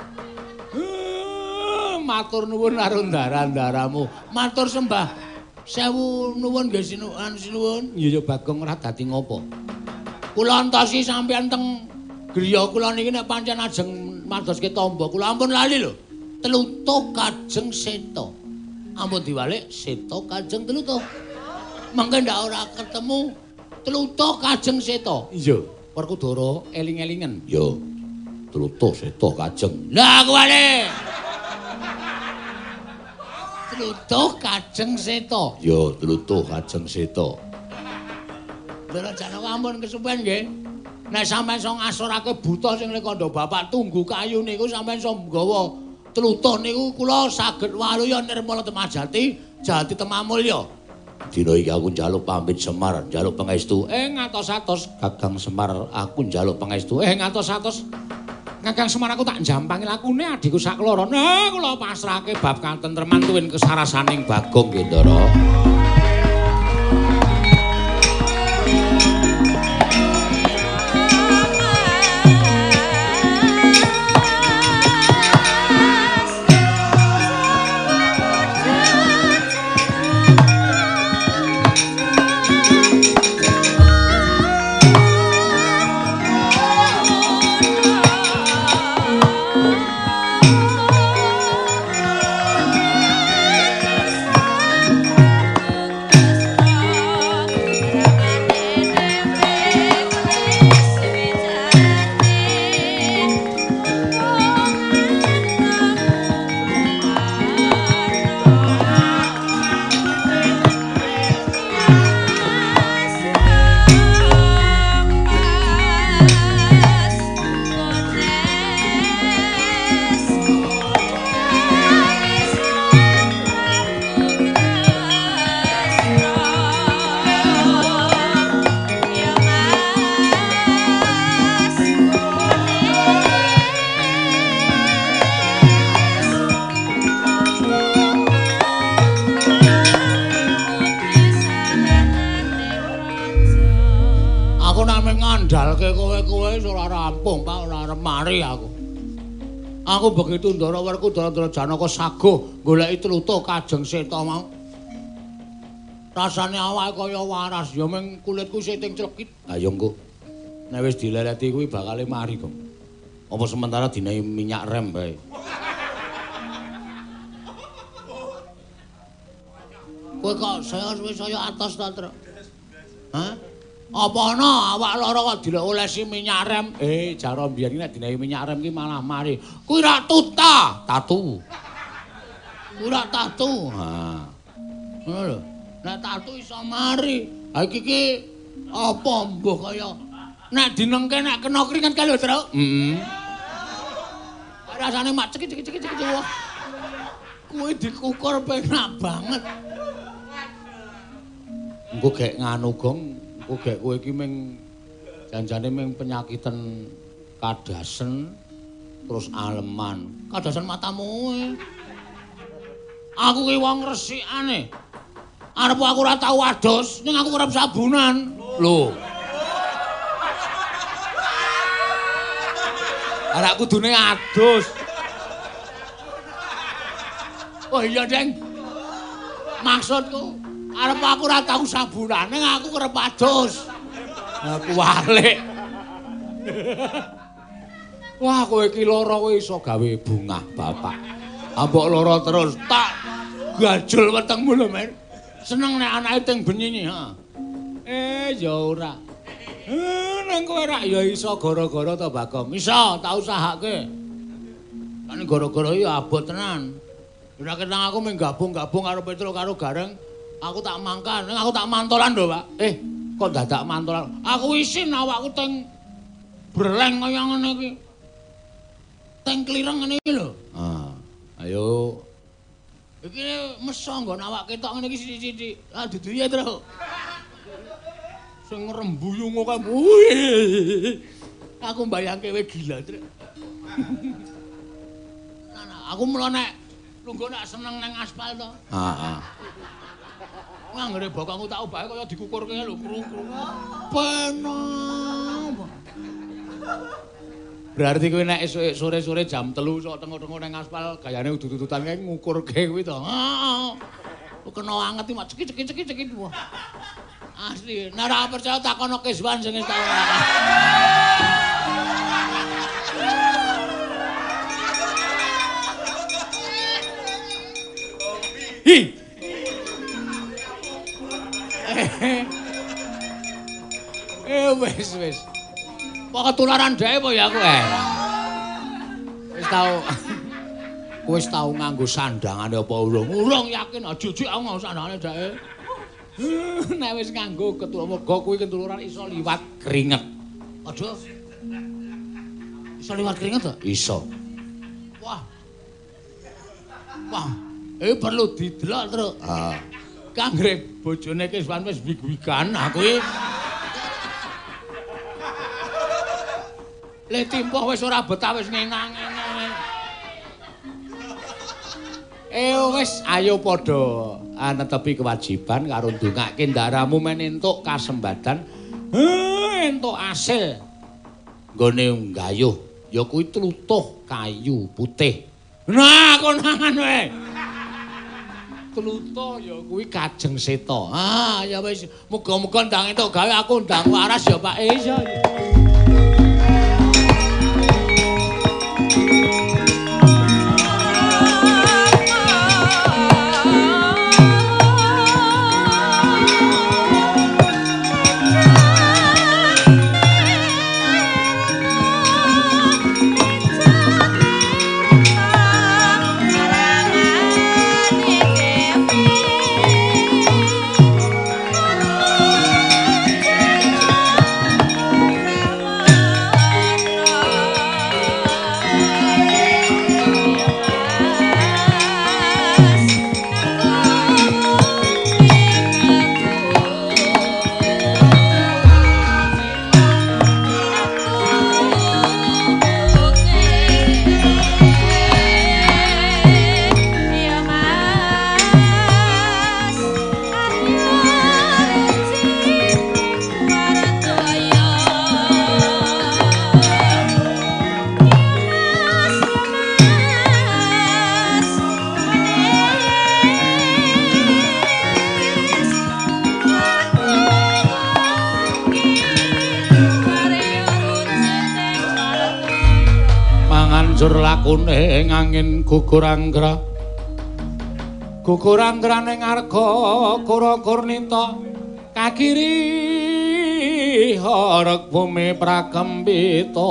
Matur nuwun karo ndara-ndaramu. Matur sembah. Sewu nuwun nggih sinuwun. Ya Bagong ora dadi ngopo. Kula entosi sampeyan teng griya kula niki nek pancen ajeng madoske tombo kula ampun lali lho. Tlutuh Kajeng Seta. Ampun diwalik Seta Kajeng Tlutuh. Mengke ndak ora ketemu Tlutuh Kajeng Seta. Iya, Werkudara eling-elingen. Ya. Tlutuh Seta Kajeng. Lah kuwi. Tlutuh Kajeng Seta. Ya, Tlutuh Kajeng Seta. Ndara Janaka ampun kesupen nggih. Nek sampeyan iso ngasorake buta sing lekandha bapak tunggu kayu niku sampeyan iso nggawa Tlutuh niku kula saged waluya nirmala Temajati, Jati Temamulya. Dina iki aku njaluk pamit Semar, njaluk pangestu. Ngatos-atos Kakang Semar, aku njaluk pangestu. Ngatos-atos Kakang Semar, aku tak jampangi lakune adhiku sakloro. Nah, kula pasrahke bab katentreman tuwin kesarasaning Bagong nggih, Ndara. Ngandalke kowe ora rampung, Pak, ora arep mari aku. Aku begitu Ndara Werkudara Janaka saguh goleki tlutuh kajeng seta mau. Rasane awake kaya waras, ya mung kulitku siting clekit. Ha ya engko. Nek wis dileleti kuwi bakal mari, Gong. Apa sementara dinehi minyak rem bae. Kowe kok saya atos ta, Truk? Hah? Apa ana awak lara kok dilolesi minyak rem? Jara mbiyen nek dinehi minyak rem ki malah mari. Kuwi ra tatu. Kuwi ra tatu. Ha. Ngono lho. Nek tatu iso mari. Ha iki apa mbuh kaya nek dinengke nek kena keringet kae lho, Truk. Rasane mak cekik-cekik wah. Kuwi dikukur penak banget. Engko gek nganu, Gong. Gek kowe iki ming janjane ming penyakiten kadasen terus aleman. Kadasen matamu. Aku ki wong resikane. Arep aku ora tau adus, ning aku kerep sabunan. Lho. Ora kudune adus. Oh iya, Deng. Maksudku arep aku ora tau sabunan, ning aku kerep adus. Aku walik. Wah, kowe iki lara kowe iso gawe bungah, Bapak. Ambok lara terus tak gajul wetengmu lho, Men. Seneng nek anake teng benyini, ha. Ya ora. Nang kowe rak ya iso gara-gara to, Bagong. Iso tak usahake. Kan gara-gara ya abot tenan. Ora ketang aku mung gabung-gabung karo Petro karo Gareng. Aku tak mangkan, aku tak mantolan lho, Pak. Kok dadak mantolan? Aku isin awakku teng breleng kaya ngene iki. Teng klireng ngene iki lho. Ayo. Iki meso nggon awak ketok ngene iki sithik-sithik. Dudu ya, Tru. Sing ngrembuyung kok. Aku mbayangke kowe gila, Tru. Aku mula nek lungguh nek seneng nang aspal to. Heeh. Anggere bokongku tak obahe kaya dikukurke lho, krung-krung. Penak. Berarti kowe nek esuk sore-sore jam 3 sok tengok-tengok nang aspal gayane udut-udutan kae ngukurke kuwi to. Heeh. Kena anget iki mak cekik-cekik wah. Asli, nek ora percaya takono Keswan sing tak ora. Hi. Wis. Kok ketularan dhewe apa ya aku Wis tau nganggo sandangane apa urung? Urung yakin jujur aku nganggo sandangane dhewe. Nek wis nganggo ketularan kuwi ketularan iso liwat keringet. Aja. Iso liwat keringet to? Iso. Wah. Perlu didelok, Truk. Kanggre bojone Kiswan wis wig-wigan aku iki. Le timpoh wis ora betah wis ngenang-ngenang. Wis ayo padha netepi kewajiban karo ndongake ndaramu men entuk kasembadan entuk asil nggone nggayuh ya kuwi tlutuh kayu putih. Nah konangan wae. Tlutuh ya kuwi Kajeng Seta. Ya wis muga-muga ndang entuk gawe aku ndang waras ya Pak. Iya. Banjur lakune ngangin gugur anggra. Gugur anggra ning arga Kura Kurnita kakiri harek bumi prakembita.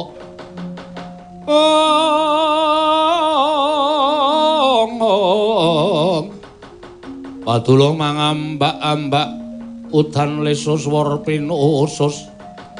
Padulung mangambak-ambak udan lesus war pinusus.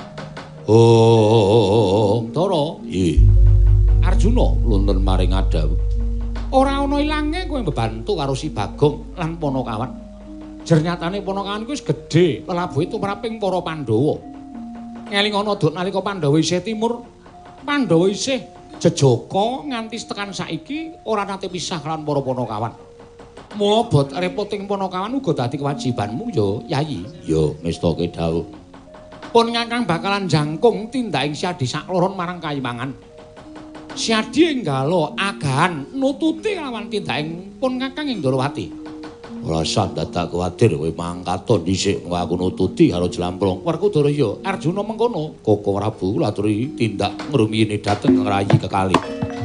Tara, Arjuna luntun maring Adawu. Ora ana ilange kowe mbebantu karo Si Bagong lan Panakawan. Jernyatane Panakawan kuwi wis gedhe, lelabuhe tumraping para Pandhawa. Ngelingana duk nalika Pandhawa isih timur, Pandhawa isih jejaka nganti tekan saiki ora nate pisah lan para Panakawan. Mula bot repoting Panakawan uga dadi kewajibanmu ya, Yayi. Ya, mestake dawuh. Pun Kakang bakalan jangkung tindaking Siadi sakloron marang Kayiwangan. Siadi enggalo agahan nututi lawan tindaking pun Kakang ing Ndorowati. Ora usah dadak kuwatir kowe mangkaton dhisik aku nututi karo Jlamprong. Werkudara ya Arjuna mengkono. Koko Prabu kula aturi tindak ngrumiyine dhateng Rayi kekalih.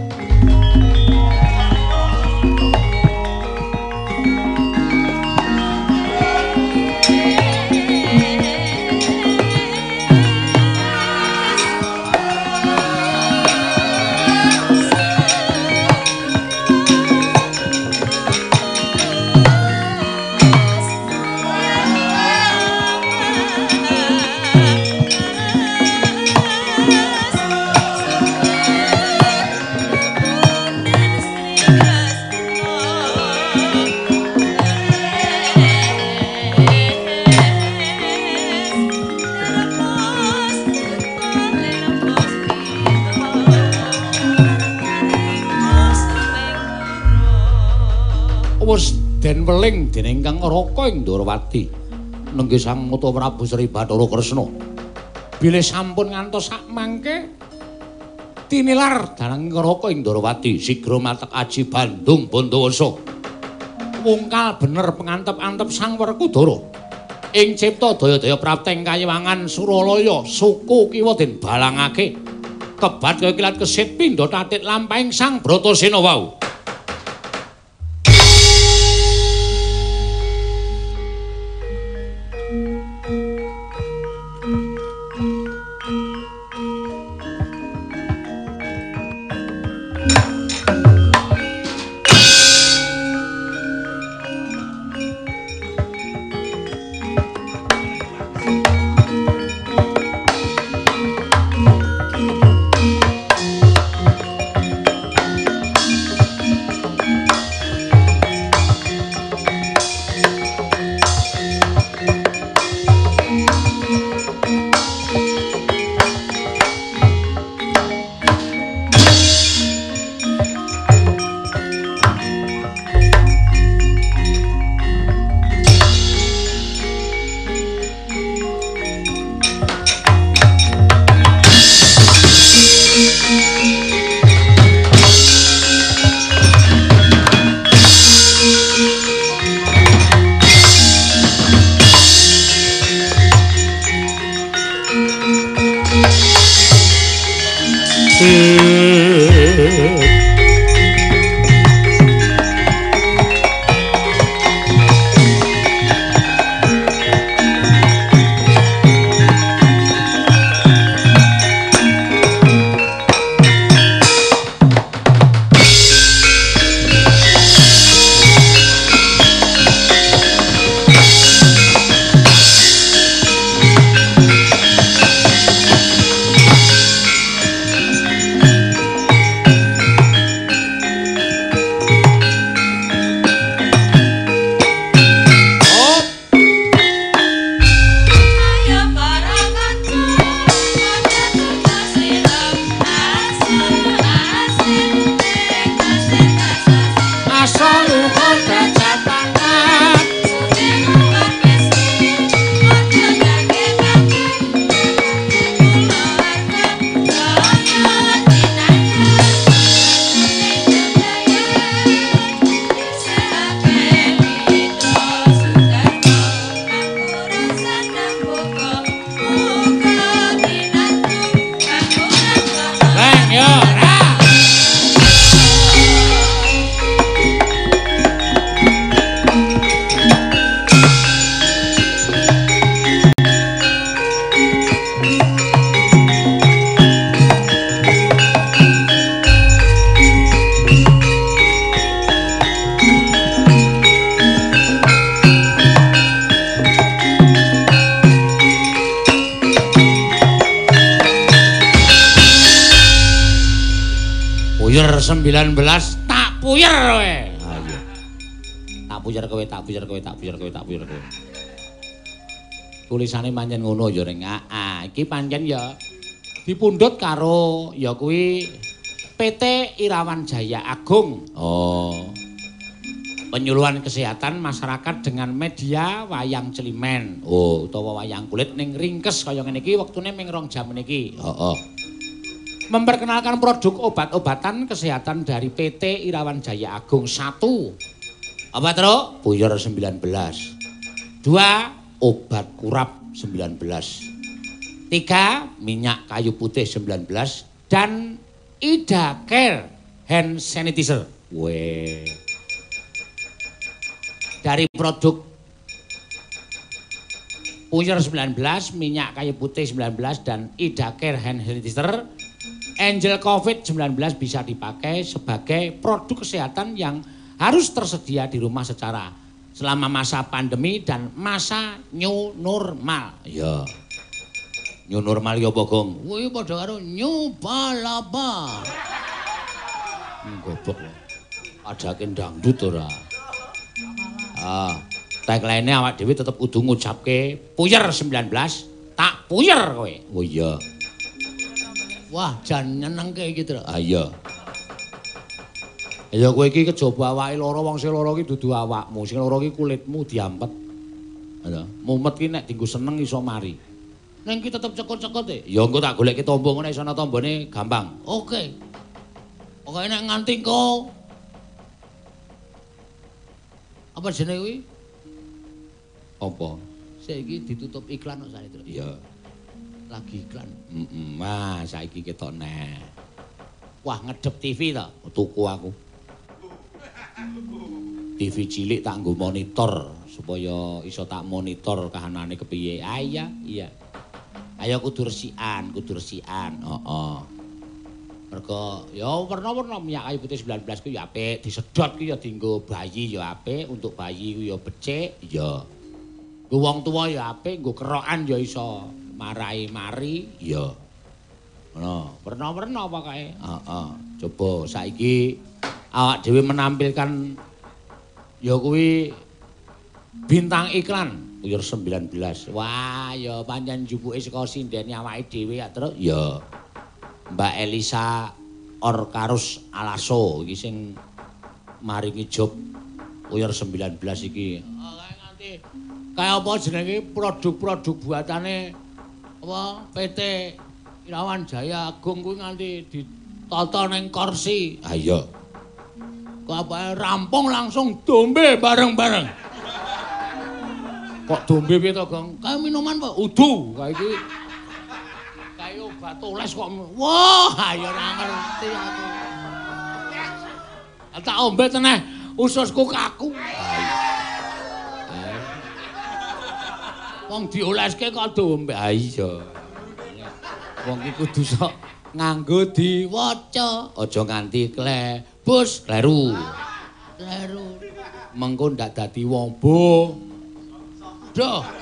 Den weling dening Kang Raka ing Ndorowati nenggih Sang Mata Prabu Sri Bathara Kresna. Bilih sampun ngantos sak mangke tinilar dalang Raka ing Ndorowati sigra matek aji Bandung Bandawasa. Wungkal bener pengantep-antep Sang Werkudara. Ing cipta daya-daya prapteng Kayiwangan Suralaya suku kiwa den balangake. Kebat kaya kilat kesit pindha tatit lampahing Sang Bratasena wau. Puyer 19 tak puyer kowe. Ha iya. Tak puyer kowe, tak puyer kowe, tak puyer kowe, tak puyer kowe. Tulisane pancen ngono ya ning. Iki pancen ya dipundhut karo ya kuwi PT Irawan Jaya Agung. Oh. Penyuluhan kesehatan masyarakat dengan media wayang celimen. Oh, utawa wayang kulit ning ringkes kaya ngene iki wektune ming 2 jam niki. Heeh. Memperkenalkan produk obat-obatan kesehatan dari PT Irawan Jaya Agung. 1. Apa terus? Puyer 19. 2. Obat kurap 19. 3. Minyak kayu putih 19. Dan Ida Care Hand Sanitizer. Weh. Dari produk Puyer 19, minyak kayu putih 19, dan Ida Care Hand Sanitizer, Angel COVID-19 bisa dipakai sebagai produk kesehatan yang harus tersedia di rumah selama masa pandemi dan masa new normal. Ya. New normal ya apa, Gong? Kuwi padha karo new balaba. Goblok lho. Adake dangdut ora. Tagline-ne awak dhewe tetep kudu ngucapke Puyer 19, tak puyer kowe. Oh iya. Wah, jan nyenengke iki, Tru. Ah iya. Ya kowe iki kejaba awake lara, wong sing lara iki dudu awakmu, sing lara iki kulitmu diampet. Lho, mumet ki nek dienggo seneng iso mari. Ning iki tetep cekut-cekut e. Ya engko tak goleki tombo ngene iso ana tombone gampang. Oke. Pokoke nek nganti engko apa jenenge kuwi? Apa? Saiki ditutup iklan kok sare, Tru. Iya. Lagi iklan. Wah, saiki ketok neh. Wah, ngedep TV to, tuku aku. TV cilik tak nggo monitor supaya iso tak monitor kahanane kepiye. Ah iya, iya. Ayo kudu resikan. Heeh. Mergo ya werna-werna minyak kayu putih 19 ku ya apik, disedot ku ya dienggo bayi ya apik, untuk bayi ku ya becik, ya. Nggo wong tuwa ya apik, nggo kerokan ya iso marai mari, ya. Ngono, werna-werna pokoke. Heeh. Coba saiki awak dhewe menampilkan ya kuwi bintang iklan Puyer 19. Wah, ya pancen jupuke saka sindene awake dhewe ya, Truk. Ya. Mbak Elisa Orkarus Alaso iki sing maringi job Puyer 19 iki. Kae nganti kaya apa jenenge produk-produk buatane apa PT Irawan Jaya Agung kuwi nganti ditata ning kursi. Ha iya. Kok apa rampung langsung dombe bareng-bareng. Kok dombe piye to, Gong? Kae minuman Pak, udu. Kae iki ayo obat oles kok. Wah, ayo ora ngerti aku. Tak ombe teneh ususku kaku. Wong dioleske kok dombe. Ha iya. Wong iki kudu sok nganggo diwaca, aja nganti klebus, kleru. Kleru. Mengko ndak dadi wong bodoh.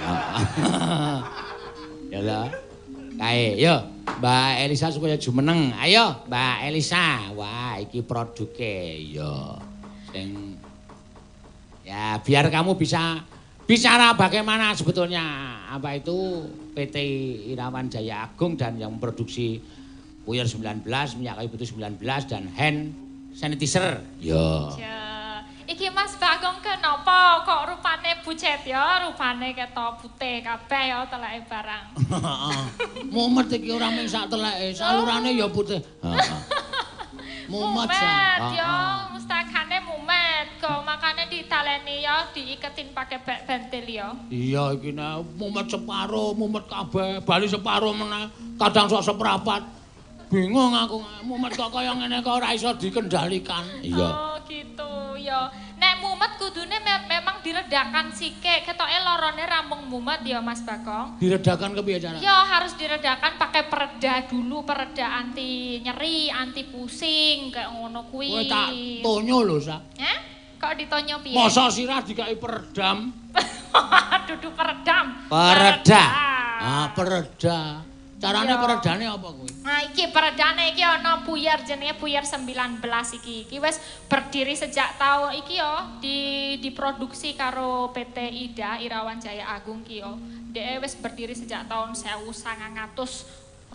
Ya lah. Kae, yo Mbak Elisa supaya jumeneng. Ayo, Mbak Elisa. Wah, iki produke yo. Sing ya biar kamu bisa bicara bagaimana sebetulnya apa itu PT Irawan Jaya Agung dan yang memproduksi Puyer 19, minyak kayu putih 19 dan hand sanitizer. Yo. Iki Mas Bagong kenapa kok rupane bucet ya, rupane ketok putih kabeh ya teleke barang. Mumet iki ora mung sak teleke, salurane ya putih. Mumet ya, mustakane mumet. Kok makane ditaleni ya diiketin pakai bentil ya. Iya iki nek mumet separo, mumet kabeh, bali separo meneh, kadang sok seprapat. Bingung aku, mumet kok kaya ngene kok ora iso dikendalikan. Iya. Oh, gitu ya. Nek mumet kudune memang diredakan sike. Ketoke lorone rampung mumet ya Mas Bagong. Diredakan kepiye carane? Ya harus diredakan pakai pereda dulu, pereda anti nyeri, anti pusing kayak ngono kuwi. Kowe tak tonyo lho, Sa. Hah? Kok ditonyo piye? Masa sirah dikai peredam? Dudu peredam. Pereda. Ah, pereda. Carane peredane apa kuwi? Nah, iki peredane iki ana Puyer jenenge Puyer 19 iki. Iki wis berdiri sejak tahun iki yo diproduksi karo PT Ida Irawan Jaya Agung ki yo. Dhek wis berdiri sejak tahun 1929.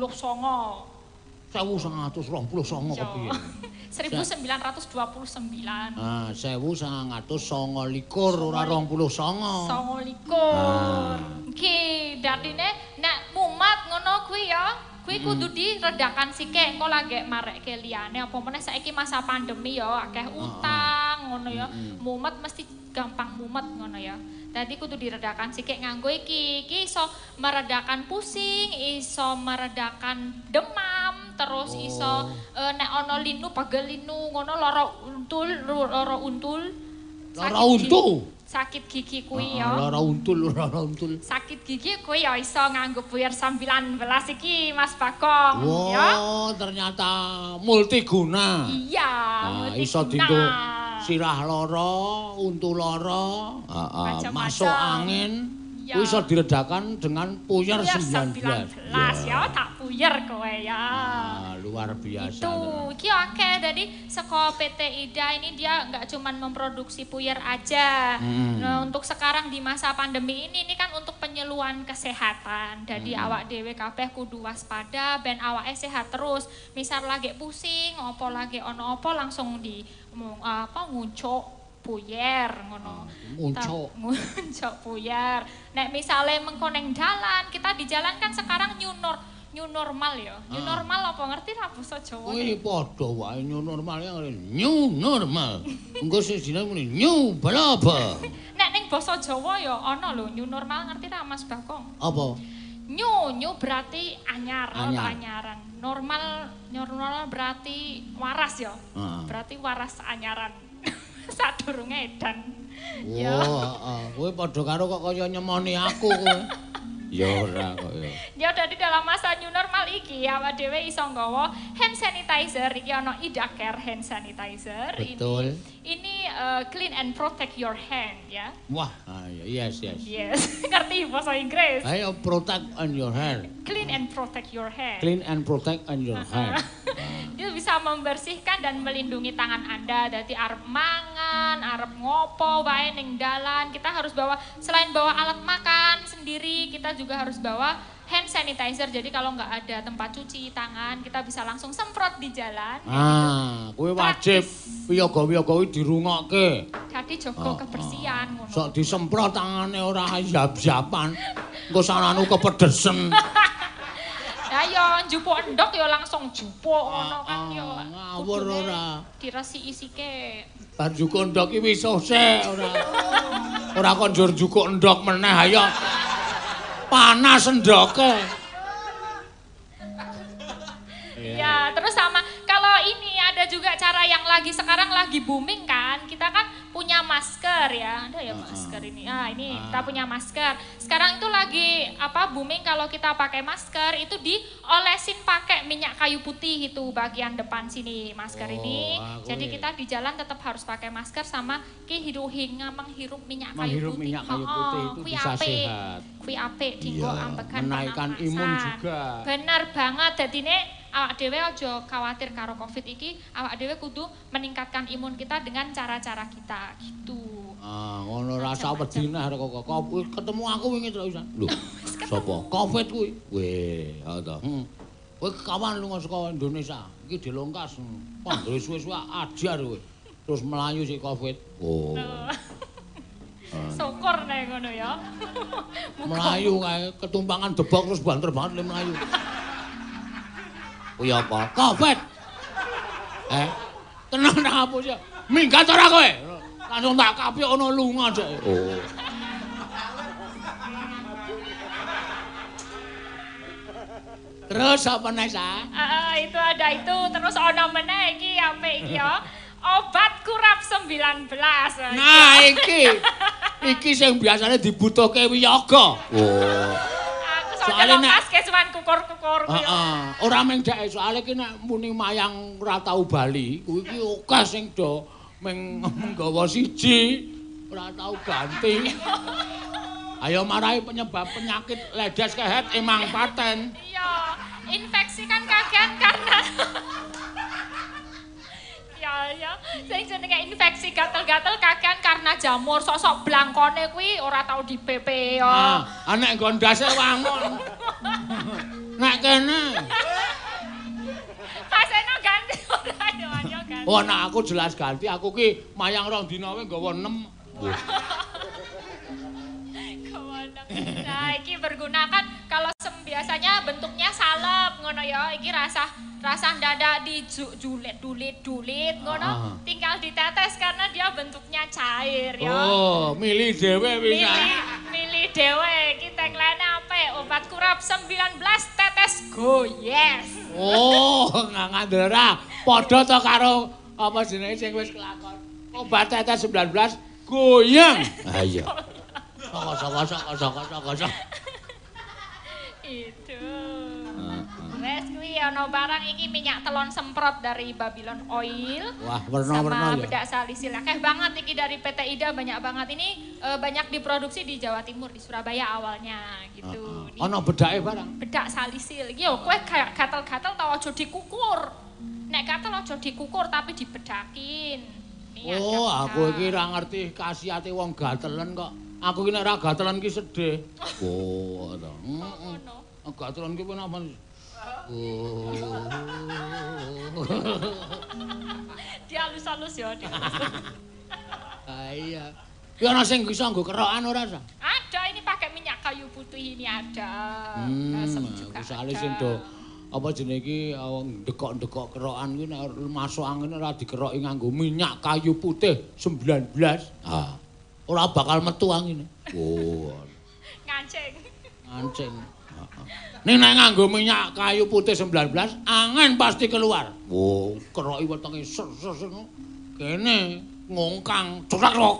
1929 kepiye? 1929. Ah, 1929 ora 29. 29. Iki dadine nek mumet ngono kuwi ya, kuwi kudu diredakan sike engko lagi marekke liyane apa meneh saiki masa pandemi ya akeh utang ngono ya. Mumet mesti gampang mumet ngono ya. Dadi kudu diredakan sike nganggo iki. Iki iso meredakan pusing, iso meredakan demam, terus iso nek ana linu pagel linu ngono lara untul. Lara untu. Sakit gigi kuwi ya. Lara untul. Sakit gigi kuwi ya iso nganggo Puyer 19 iki Mas Bagong ya. Oh, ternyata multiguna. Iya, multiguna. Iso dienggo sirah lara, untu lara, masuk angin. Kuwi iso diredakan dengan Puyer 19. Ya, tak puyer kowe ya. Luar biasa. Itu, iki akeh. Jadi saka PT Ida ini dia nggak cuman memproduksi puyer aja. Nah, untuk sekarang di masa pandemi ini kan untuk penyuluhan kesehatan. Jadi awak dhewe kabeh kudu waspada ben awake sehat terus. Misal lagi pusing, apa lagi ono apa langsung di nguncuk puyer ngono. Nguncuk puyer. Nek misale mengko ning dalan, kita di jalan kan sekarang new normal ya. New normal apa ngerti ra basa Jawa? Kuwi padha wae new normal ya new normal. Engko sing jenenge muni new balaba. Nek ning basa Jawa ya ana lho new normal ngerti ra Mas Bagong? Apa? New berarti anyar atau anyaran. Normal berarti waras ya. Berarti waras anyaran. Sadurunge edan. Wah, kowe padha karo kok kaya nyemoni aku kowe. Ya ora kok ya. Ya dadi dalam masa new normal iki awak dhewe iso nggawa hand sanitizer iki ana Ida Care hand sanitizer. Betul. Ini clean and protect your hand ya. Wah, yes. Yes, ngerti bahasa Inggris. Ayo protect on your hand. Clean and protect your hand. Clean and protect on your hand. Dia bisa membersihkan dan melindungi tangan Anda. Dadi arep mangan, arep ngopo wae ning dalan, kita harus bawa selain bawa alat makan sendiri, kita juga harus bawa hand sanitizer. Jadi kalau nggak ada tempat cuci tangan, kita bisa langsung semprot di jalan. Kowe wajib wiyaga-wiyaga kuwi dirungokke. Jadi jogo kebersihan ngono. Sok disemprot tangane ora yap-yapan. Engko sananu kepedesen. Ya yo njupuk endok yo langsung jupuk ngono kan yo. Ngawur ora. Diresiki sike. Bar njukuk endok iki wis sesek ora. Ora kok njur njukuk endok meneh ayo. Panas endoke. juga cara yang sekarang lagi booming kan. Kita kan punya masker ya. Ada ya masker ini. Ini kita punya masker. Sekarang itu lagi booming kalau kita pakai masker itu diolesin pakai minyak kayu putih itu bagian depan sini masker ini. Jadi kita di jalan tetap harus pakai masker sama menghirup minyak kayu putih. Minyak kayu putih itu bisa sehat. Kuwi apik dinggo ambekan menaikkan imun juga. Bener banget. Dadine awak dhewe aja khawatir karo Covid iki, awak dhewe kudu meningkatkan imun kita dengan cara-cara kita gitu. Ngono rasa wedine arek kok ketemu aku wingi terus. Lho, sapa? Covid kuwi. Weh, to. Kowe kawan lunga saka Indonesia, iki dilongkas. Panggil suwe-suwe ajar kowe. Terus melayu si Covid. Oh. Syukur nek ngono ya. Melayu kae ketumpangan debok terus banter banget le melayu. Kuwi apa? Covid. Tenang nang apa sih? Minggat ora kowe? Langsung tak kapik ono lunga sik. Oh. Terus apa nek sa? Itu ada itu terus ono meneh iki apik iki ya. Obat kurap 19. Nah, iki sing biasane dibutuhke wiyaga. Oh. Soale nek kesuwen kukur-kukur kuwi. Ora mung dhek soalé ki nek muni mayang ora tau bali, kuwi ki akeh sing do menggawa siji, ora tau ganti. Ayo marahi penyebab penyakit ledes kehet emang paten. Iya, infeksi kan kakean karena ya, sing jenenge infeksi gatel-gatel kakean karena jamur sosok blangkone kuwi ora tau dipepe ya. Nek gondase wangun. Nek kene. Paseno ganti ora yo ganti. Oh, nek aku jelas ganti, aku ki mayang rong dina wae nggawa 6. Nah, iki berguna kan kalau biasanya bentuknya salep ngono ya. Iki rasa ndadak dijulit-dulit ngono, tinggal ditetes karena dia bentuknya cair ya. Oh, milih dhewe bisa. Milih dhewe. Iki tagline apa? Obat kurap 19 tetes go yes. Oh, ngandera. Padha to karo apa jenenge sing wis kelakon. Obat tetes 19 goyang. Ha iya. Saka. Itu. Wes kuwi ana barang iki minyak telon semprot dari Babylon Oil. Wah, warna-warna ya. Sama bedak salisil. Akeh banget iki dari PT IDA banyak banget. Ini banyak diproduksi di Jawa Timur, di Surabaya awalnya gitu. Ana bedake barang. Bedak salisil. Iki yo kowe kayak gatel-gatel tau aja dikukur. Nek gatel aja dikukur tapi dibedakin. Oh, aku iki ora ngerti khasiate wong gatelen kok. Aku ki nek ora gatelan ki sedih. Oh, to. Heeh. Gatelan ki penapa? Oh. Dialus-alus ya, Iya. Ki ana sing bisa nggo kerokan ora, Sa? Ada, ini pakai minyak kayu putih ini ada. Juga soalnya sing do apa jenenge iki ndekok-ndekok kerokan kuwi nek masuk angin ora dikeroki nganggo minyak kayu putih 19. Ora bakal metu angine. Oh. Ngancing. Ning nek nganggo minyak kayu putih 19, angin pasti keluar. Oh, keroki wetenge ser. Kene ngongkang cerak.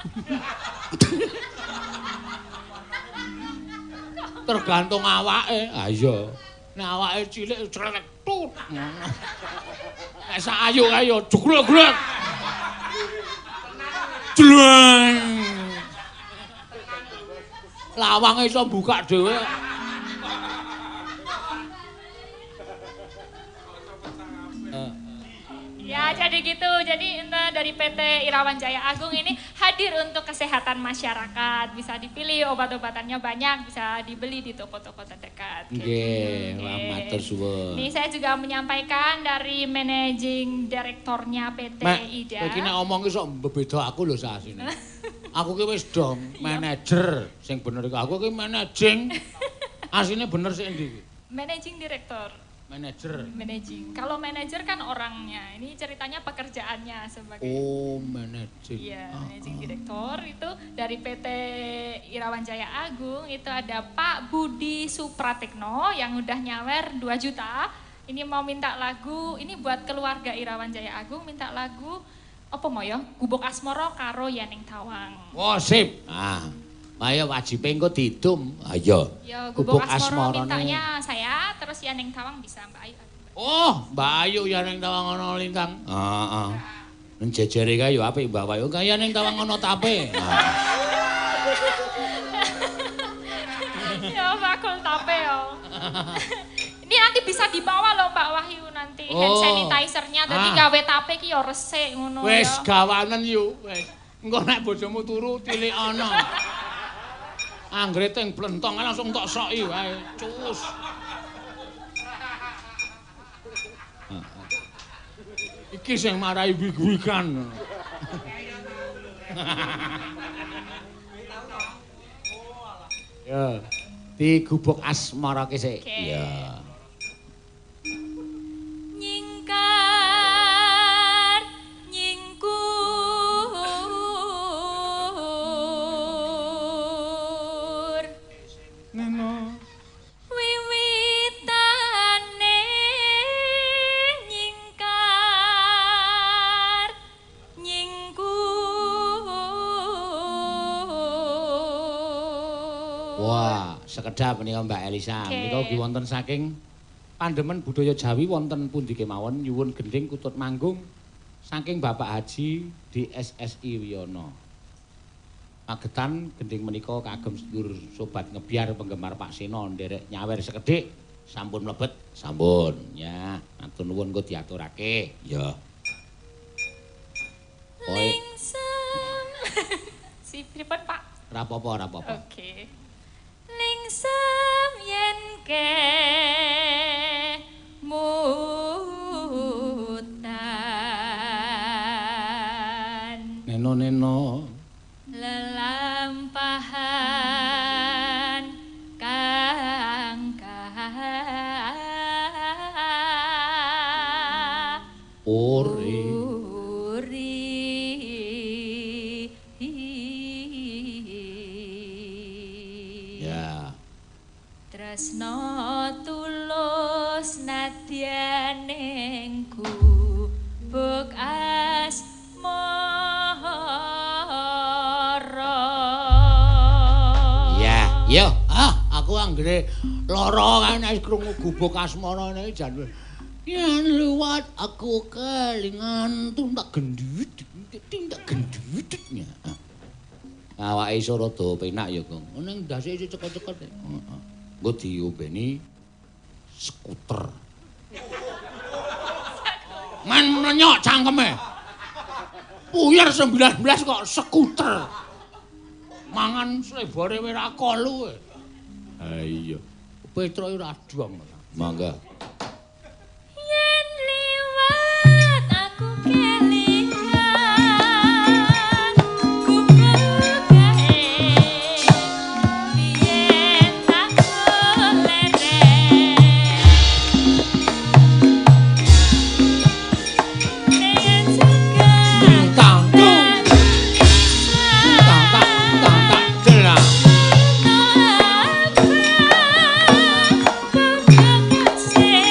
Tergantung awake. Iya. Nek awake cilik cerak tut. Nek sak ayu kae yo jugrek-grek. Jleng. Lawange iso buka dhewe. Ya, jadi gitu. Jadi dari PT Irawan Jaya Agung ini hadir untuk kesehatan masyarakat. Bisa dipilih obat-obatannya banyak, bisa dibeli di toko-toko terdekat. Nggih, matur suwun. Ini saya juga menyampaikan dari managing direktornya PT IDA. Iki nek omong ki sok beda aku lho sasine. Aku ki wis dong manajer sing bener iku. Aku ki managing. Asline bener sik endi iki? Managing direktor. Managing. Kalau manajer kan orangnya. Ini ceritanya pekerjaannya sebagai. Oh, managing. Iya, managing direktor itu dari PT Irawan Jaya Agung itu ada Pak Budi Supratekno yang udah nyawer 2 juta. Ini mau minta lagu, ini buat keluarga Irawan Jaya Agung, minta lagu apa mau ya? Gubuk Asmara karo Yaning Tawang. Oh, sip. Ah. Ayo wajib engko didum. Ayo. Ya, Gubuk Asmara mintanya saya, terus Yaning Tawang bisa Mbak Ayu. Oh, Mbak Ayu Yaning Tawang ana lintang. Heeh. Ning jejere kae yo apik Mbak Ayu, kaya Yaning Tawang ana tape. Ya, bakul tape yo. Ini nanti bisa dibawa loh Mbak Wahyu nanti hand sanitizer-nya dadi gawe tape ki yo resik ngono ya. Wis gawanen yo, wis. Engko nek bojomu turu tilik ana. Anggere teng blentong langsung tok soki wae. Cus. Iki sing marai wig-wigan. Ya, di Gubuk Asmara ki sik. Ya. Nyingkar nyingkur Neno wiwitane nyingkar nyingkur. Wah, sekedap menika Mbak Elisa. Menika ugi wonten saking Pandemen budaya Jawi wonten pundi kemawon nyuwun gending kutut manggung saking Bapak Haji di SSI Wiyono. Magetan gending menika kagem sedulur sobat ngebyar penggemar Pak Seno nderek nyawer sekedhik sampun mlebet sampun ya matur nuwun engko diaturake ya. Lingsem. Si pripun Pak? Ora apa-apa, ora apa-apa. Oke. Lingsem yen ke mutan Neno lelampahan ori ya tresno tulus nadyaning gubuk asmara. ya yo aku anggere lara kan nek krungu gubuk asmara niki jan yen liwat aku kelingan tuntak gendut tindak gendutnya awake iso rada penak ya Kang ning ndase isih cekot-cekot heeh nggo diombeni skuter man menyok cangkeme puyer 19 kok skuter mangan slebore ora kolu ha iya Petro ora adong mangga Yen liwat aku kelingan gubuk gae biyen aku lereng ning juga tang jelas Sing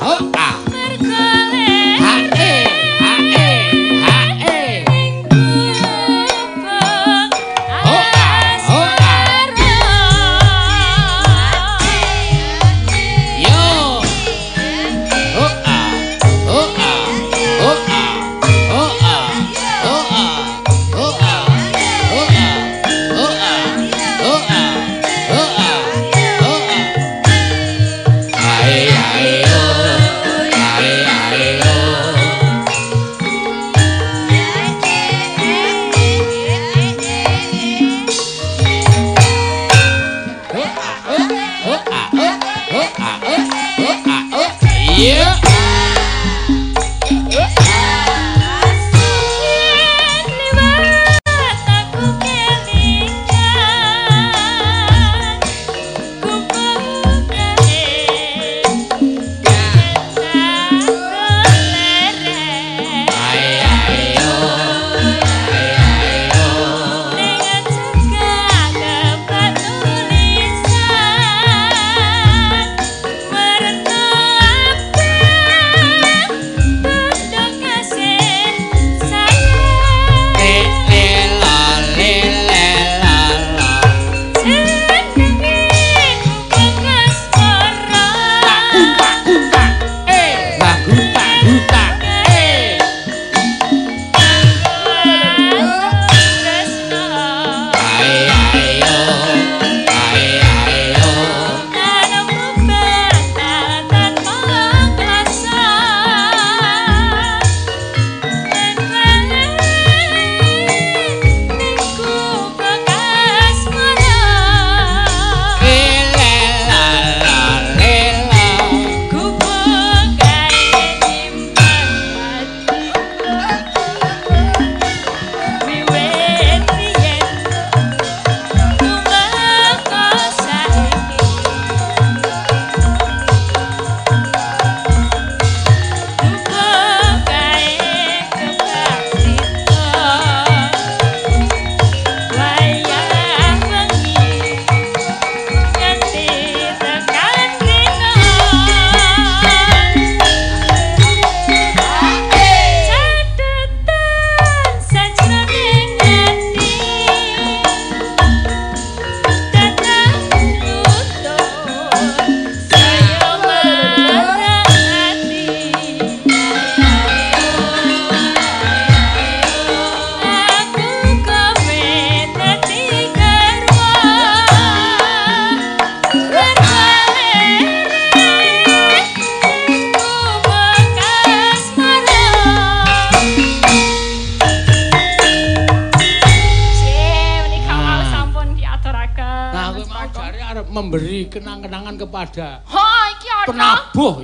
memberi kenang-kenangan kepada iki ana penabuh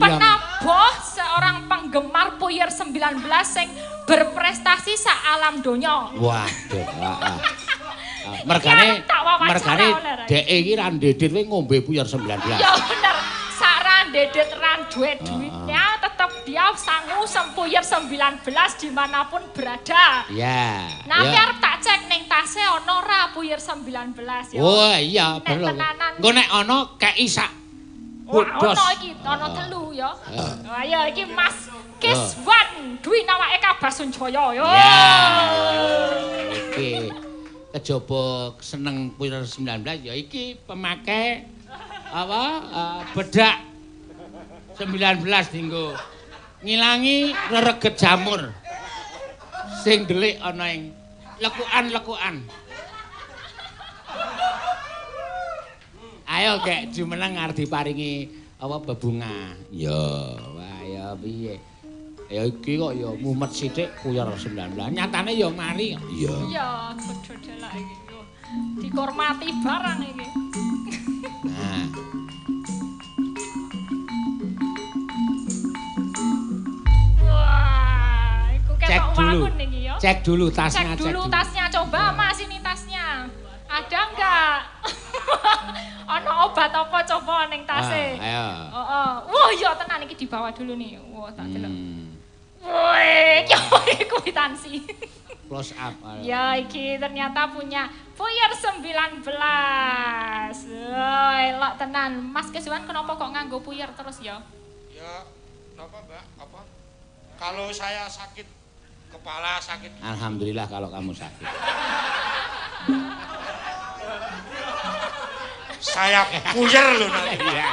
seorang penggemar Puyer 19 sing berprestasi sak alam donya. Waduh, mergane dhek iki ra ndedet kowe ngombe Puyer 19. Ya bener, sak ra ndedet ra duwe duitnya tetep dia sangu Puyer 19 dimanapun berada. Ya. Nah, arep tak cek ning tase ana ra Puyer 19 ya. Oh iya, bener. Engko nek ana kei sak Ono iki, ono telu ya. Ayo iki Mas Kiswan, Dwi nawake Kabasunjaya ya. Iki kejaba seneng Puyer 19 ya iki pemakai bedak 19 dinggo ngilangi rereget jamur sing delik ana ing lekukan-lekukan. Ayo gek jumeneng arep diparingi bebunga. Ya, wah ya piye. Ya iki kok ya mumet sithik Puyer 19. Nyatane ya mari. Iya. Iya, kudu delok iki. Dihormati barang iki. Nah. Wah, iku ketok wangun iki ya. Cek dulu tasnya, cek dulu tasnya. Coba Mas ini tasnya. Ada enggak? Ana obat apa coba ning tase? Ayo. Heeh. Wah, ya tenan iki dibawa dulu nih. Wah, tak delok. Wih, kwitansi. Close up. Ya, iki ternyata punya Puyer 19. Wah, elok tenan. Mas Kiswan kenapa kok nganggo Puyer terus ya? Ya, Kalau saya sakit kepala, sakit. Alhamdulillah kalau kamu sakit. Saya puyer loh nanti. Iya.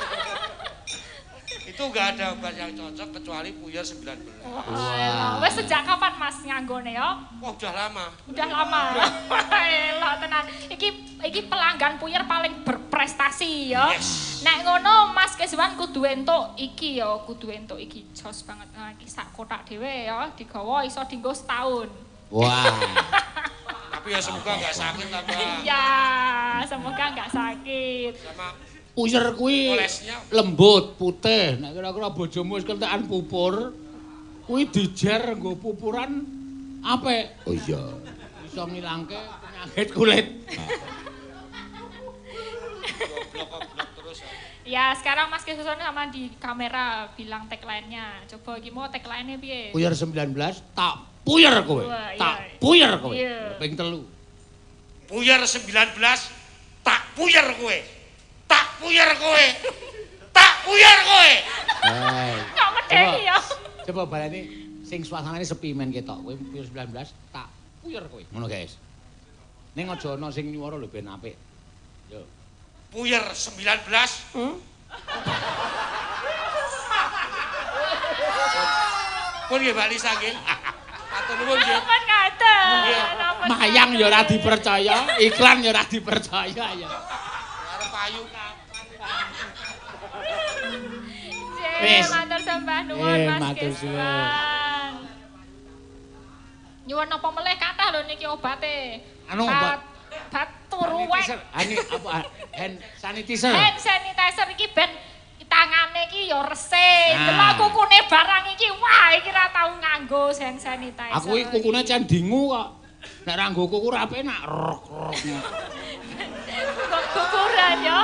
Itu nggak ada obat yang cocok kecuali puyer 19. Wah. Wes sejak kapan Mas nganggone ya? Wah, udah lama. Udah lama. Elah tenan. Iki pelanggan puyer paling berprestasi ya. Yes. Nek ngono Mas Keswan kudu entuk iki ya, kudu entuk iki jos banget. Nah, iki sak kotak dhewe ya, digawa iso dienggo setahun. Wah. Tapi ya semoga nggak sakit apa. Iya, semoga nggak sakit. Sama Puyer kuwi olesnya lembut, putih. Nek kira-kira bojomu wis kentekan pupur, kuwi dijer nggo pupuran apik. Oh iya. Iso ngilangke penyakit kulit. goblok terus. Ya, sekarang Mas Keswan sama di kamera bilang tagline-nya. Coba iki mau tagline-nya piye? Puyer 19 tak puyer kowe. Wah, iya. Tak puyer kowe. Iya. Ping 3. Puyer 19 tak puyer kowe. Tak puyer kowe. Tak puyer kowe. Kok medeni ya? Coba baleni sing suasanane sepi men ketok. Kowe puyer 19 tak puyer kowe. Ngono guys. Ning aja ana sing nyuwara lho ben apik. Yo. Puyer 19. Pun nggih Mbak Lisa nggih. Matur nuwun nggih. Ampun ngaten. Mayang ya ora dipercaya, iklan ya ora dipercaya ya. Arep payu Wis. Matur sembah nuwun Mas matur Keswan. Nyuwun apa meleh kathah lho niki obate. Anu, obat. Bat turuwek. Ini apa? Hand sanitizer. Hand sanitizer iki ben tangane iki ya resik. Nah. Delok kukune barang iki wah iki ra tau nganggo hand sanitizer. Aku iki kukune can dingu kok. Nek ra nggo kuku ra penak. Kok kukuran ya.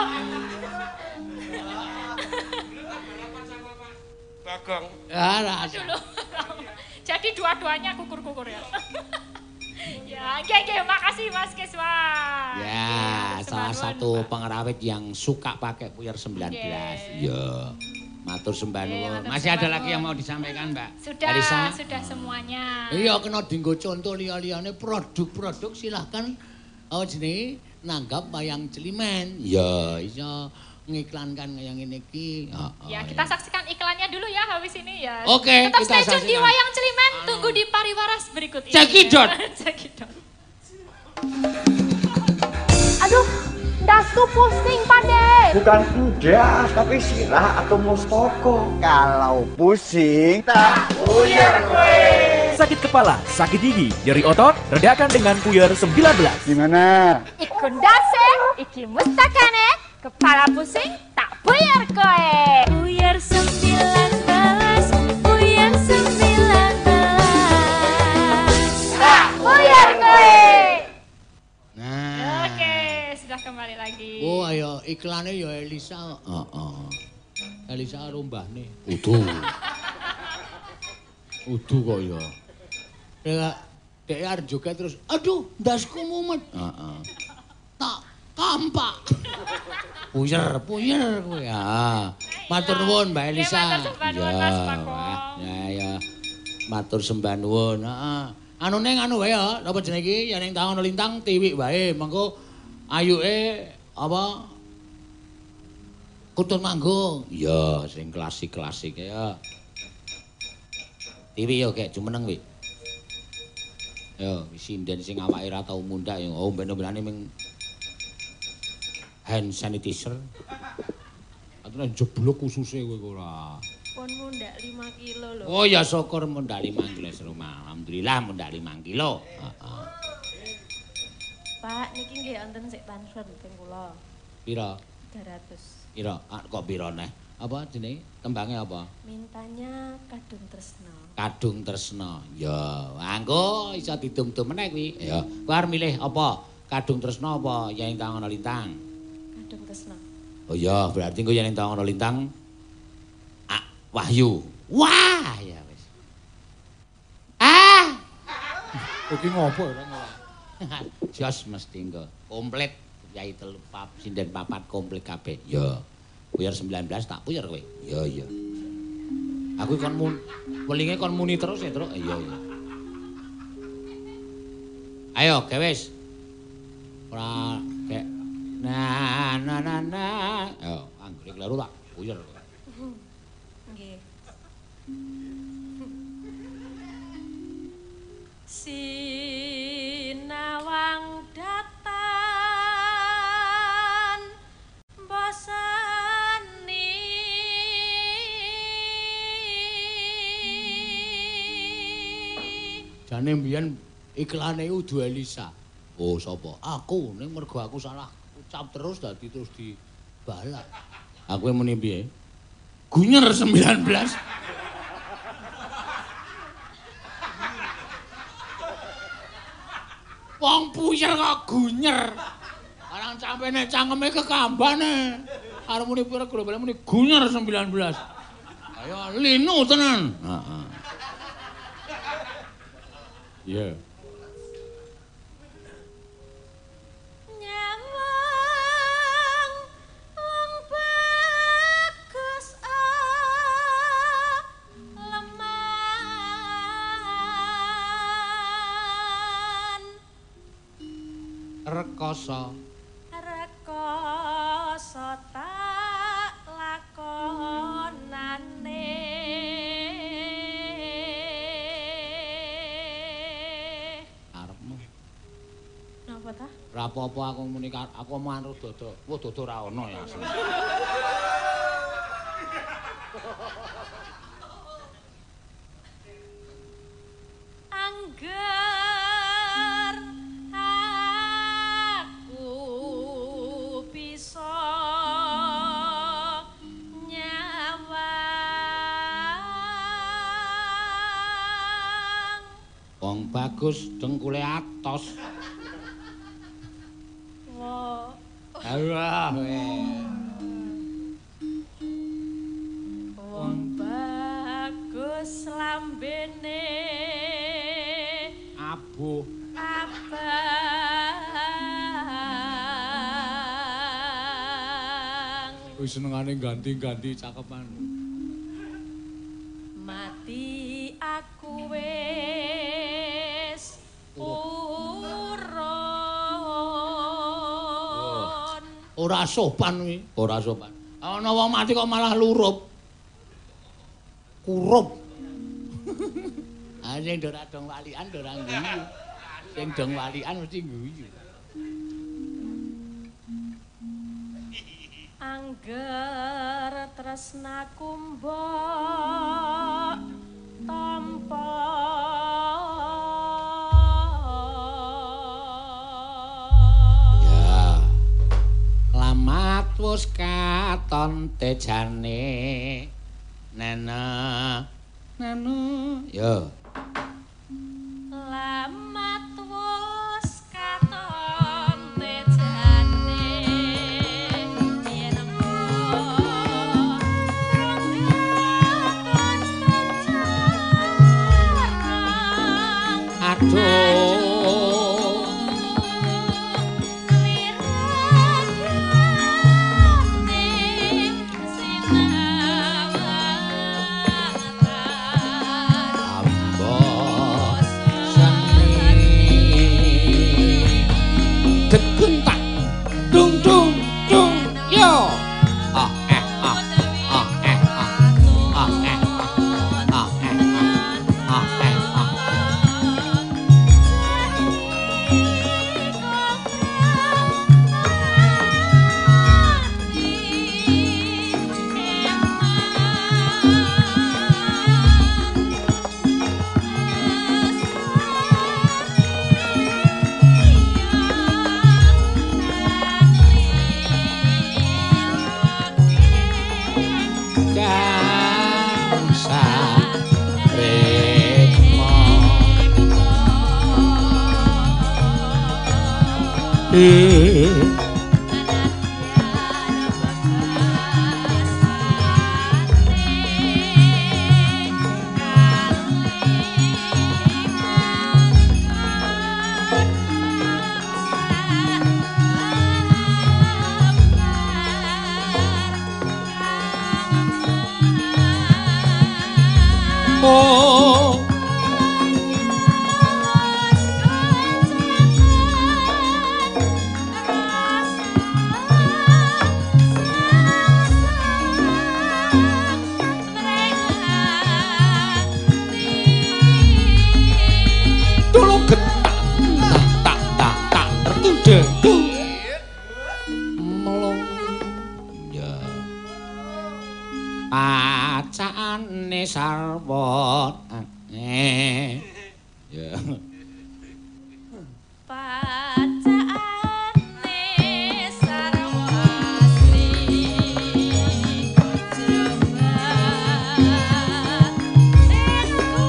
Bagong. Ya ra. Dulu. Jadi dua-duanya kukur-kukur ya. Ya, oke, makasih Mas Keswan. Ya, salah satu pengerawit yang suka pakai puyer 19. Ya. Matur sembah nuwun. Masih ada lagi yang mau disampaikan, Mbak? Sudah, Alisa? sudah semuanya. Iya, kena dienggo contoh liya-liyane produk-produk silahkan jenenge nanggap wayang Celimen. Ya, iso ngiklankan yang ini iki. Ya, kita saksikan iklannya dulu ya habis ini ya. Oke, tetap kita stay tune di saksikan. Wayang Celimen. Tunggu di Pariwaras berikut ini. Cekidot. Cekidot. Aduh, dasku pusing Pande. Bukan endas, tapi sirah atau mustoko. Kalau pusing, tak puyer gue. Sakit kepala, sakit gigi, nyeri otot, redakan dengan puyer 19. Gimana? Iku ndase, iki mustakane, kepala pusing tak buyar kowe. Puyer 19, puyer 19. Tak buyar kowe. Nah. Oke, sudah kembali lagi. Oh, ayo iklannya ya Elisa. Elisa karo mbahne. Udu kok ya. Dek arep joget terus, aduh, ndasku mumet. Tak kampak. Puyer kowe. Matur nuwun Mbak Elisa. Matur sembah nuwun Mas Pakong. Ya. Matur sembah nuwun. Anu ning anu wae ya, apa jenenge iki? Ya ning taun lintang tiwik wae. Mengko ayuke apa? Kutun Manggung. Iya, sing klasik-klasik ya. Tiwik yo gek jumeneng wi. Yo, sinden sing awake ra tau mundhak yo omben-ombenane ming hand sanitizer. Atune jeblok ususe kowe ora. Pon mundak 5 kilo lho. Oh ya syukur mundak 5 kilo serumah. Alhamdulillah mundak 5 kilo. Pak, niki nggih wonten sik transfer ping kula. Pira? 300. Pira? Kok pira neh? Apa jenenge? Tembange apa? Mintanya kadung tresno. Kadung tresna. Ya, anggo iso didum-dum meneh kuwi. Ya, kowe arep milih apa? Kadung tresna apa yen tangono lintang? Kadung tresno. Oh ya, berarti engko yen tangono lintang Wahyu. Wah, ya wis. Iki ngopo ora ngono. Jos mesti engko komplit yai telu sinden papat komplit kabeh. Ya. Puyer 19 tak puyer kowe. Ya. Aku kon welinge kon muni terus ya, Truk. Iya. Ayo, gewis. Ora kek na. Ayo, anggere kleru tak puyer. Nggih. Sinawang datan bosani jane mbiyen iklane Udu Elisa. Oh, sapa? Aku ning mergo aku salah ucap terus dadi terus dibalak. Aku muni piye? Gunyer 19. Wong puyer kok gunyer. Barang sampene cangkeme kekambane. Arep muni pira global muni gunyer 19. Ayo linu tenan. Heeh. Iya. Rekoso tak lakonane arepmu napa ta? Ora apa-apa aku muni aku manut dodo. Wah dodo ora ono ya asli. Angger aku bisa nyawang Wong bagus dengkule atos. Alah wong bagus lambene abuh abang wis senengane ganti-ganti cakepan. mati aku wis urun Ora sopan kuwi, ora sopan. Ana wong mati kok malah lurup. Kurup. Ah sing ora dong walian ora guyu. Sing dong walian mesti guyu. Angger tresnaku mbok tampa ya lamat wis katon tejane nana ya lamat wis katon tejane yen amuk pacane sarwa ya pacane sarwasri jembat engko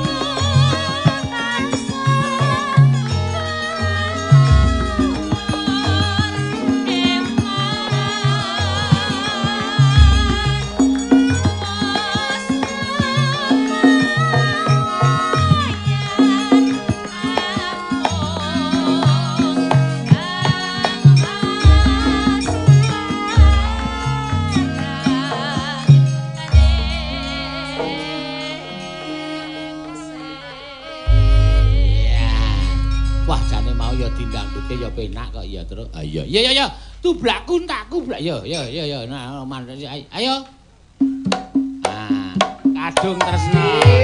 dindangdute ya penak kok ya terus. Ah iya iya tublakku entakku blak ya nah ayo. Ah, kadung tresno.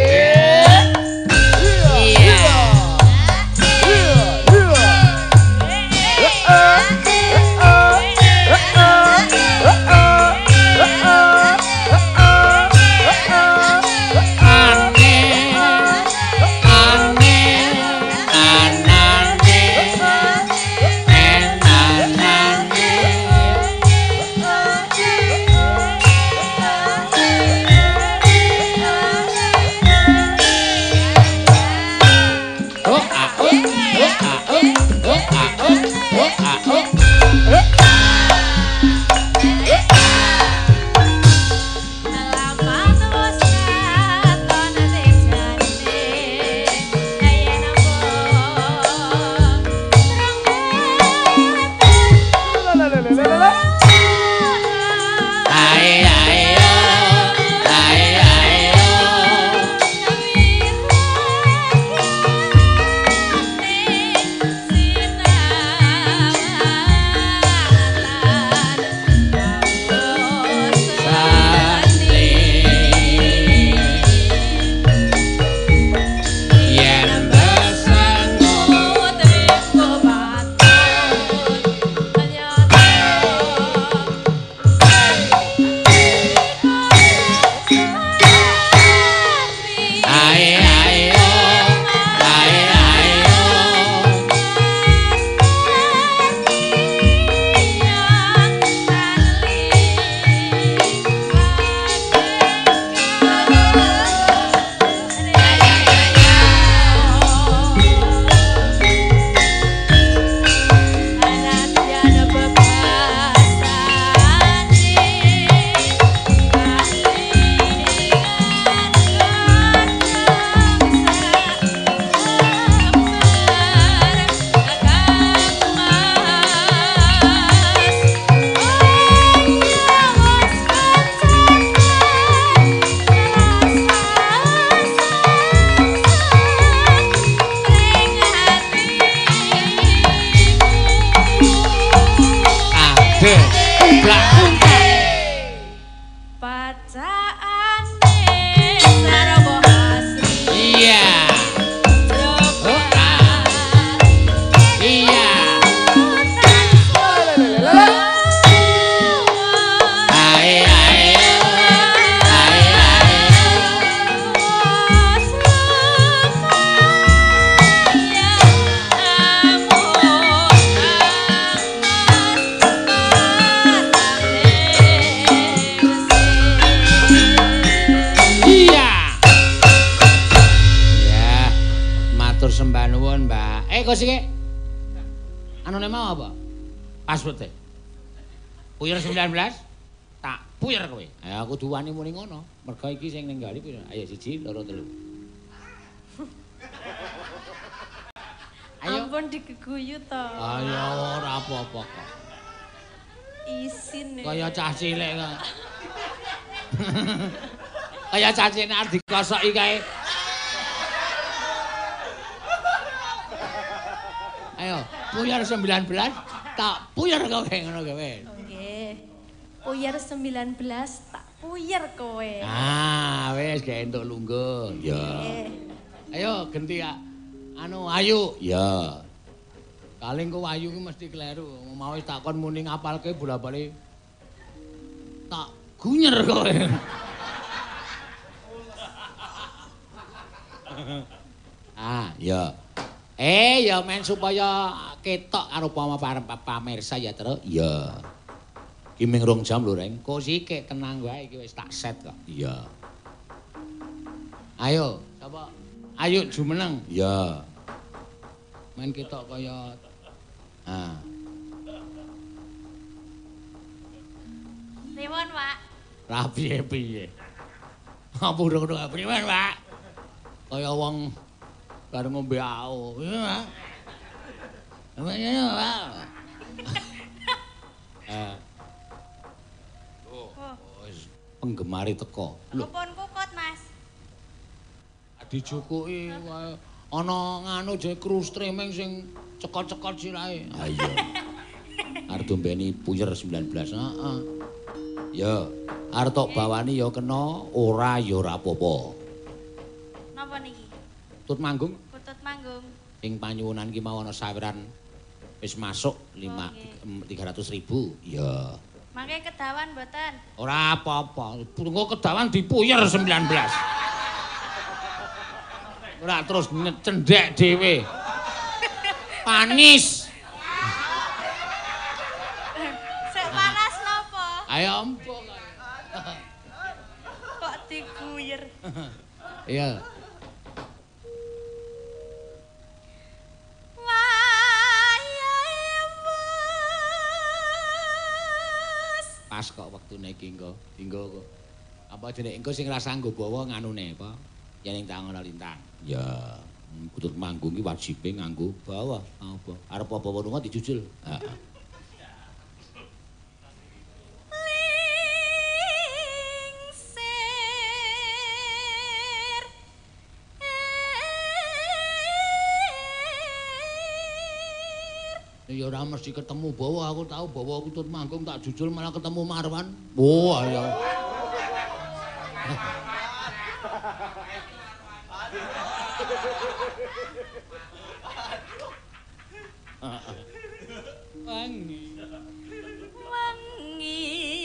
Kosike. Anune mau apa? Password e. Puyer 19. Tak puyer kowe. Ya aku duwani muni ngono. Mergo iki sing ninggali pira? Ayo 1 2 3. Ayo. Ampun dikeguyu to. Ayo ora apa-apa kok. Isin. Kaya cah cilik kok. Kaya cacine arep dikosoki kae. Ayo, puyar 19 tak puyar kowe ngono kowe. Nggih. Puyer 19 tak puyer kowe. Ah, wis gak entuk lungguh. Ya. Ayo ganti ya. Anu Ayu. Ya. Kaling kok Ayu ki mesti kleru. Mau wis takon muni ngapalke bola-bali. Tak gunyer kowe. Ah, ya. Ya men supaya ketok karo pamirsa ya terus. Ya. Ki ming 2 jam lho, Reng. Kok sik tenang wae iki wis tak set kok. Iya. Ayo, sapa? Ayo jumeneng. Ya. Men ketok kaya Pripun, Pak? Lah piye-piye. Apa urung pripun, Pak? Kaya wong bar ngombe ao. Iya, Pak. Iya, Pak. Penggemari teko. Lho, Kupun kukut, Mas. dijukuki wae. Ana nganu je kru streaming sing cekot-cekot sirahe. Ha iya. Arep dombeni puyer 19. Heeh. Ya, arep tok bawani ya kena, ora ya ora apa-apa. Napa niki? Tut manggung Kutut manggung. ing panyuwunan ki mau ana sawiran wis masuk 300.000. Ya. Mangke kedawan mboten? Ora apa-apa. Engko kedawan dipuyer 19. Ora terus cendhek dhewe. Panis. Sik panas napa? Ayo empuk. Kok diguyer? Iya. Pas kok wektune iki engko. Dinggo kok. Apa jenenge engko sing rasa nggo bawa nganune apa? Yen ing tangan lintang. Ya, kutut manggung ki wajibe nganggo bawa. Apa? Arep apa lunga dijujul. Heeh. Ya ora mesti ketemu bawa, aku tahu bawa kutut manggung tak jujul malah ketemu Marwan. Wah, ya. Wangi. Wangi.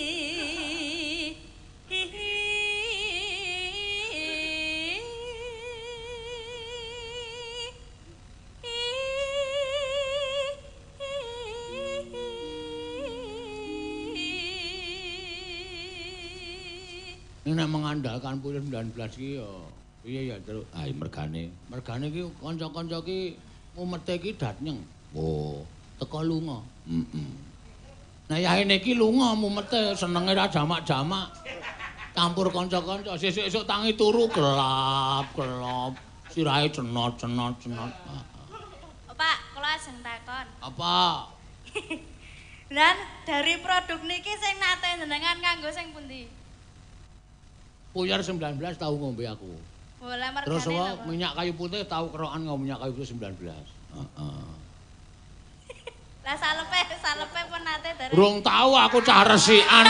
Ini nek mengandalkan puyer 19 ki ya piye ya terus mergane ki kanca-kanca ki umete ki datnyeng. Oh, teko lunga. Nah yaene ki lunga mumete senenge ra jamak-jamak. Campur kanca-kanca sesuk-esuk tangi turu gelap-gelap. Sirahe cenot-cenot. Pak, kula ajeng takon. Apa? Lan dari produk niki sing nate jenengan nganggo sing pundi? Puyer 19 tau ngombe aku. Boleh mergane. Terus apa minyak kayu putih tau kerokan ngombe minyak kayu putih 19. Heeh. Lah salepe pun nate dari. Urung tau aku cah resikan.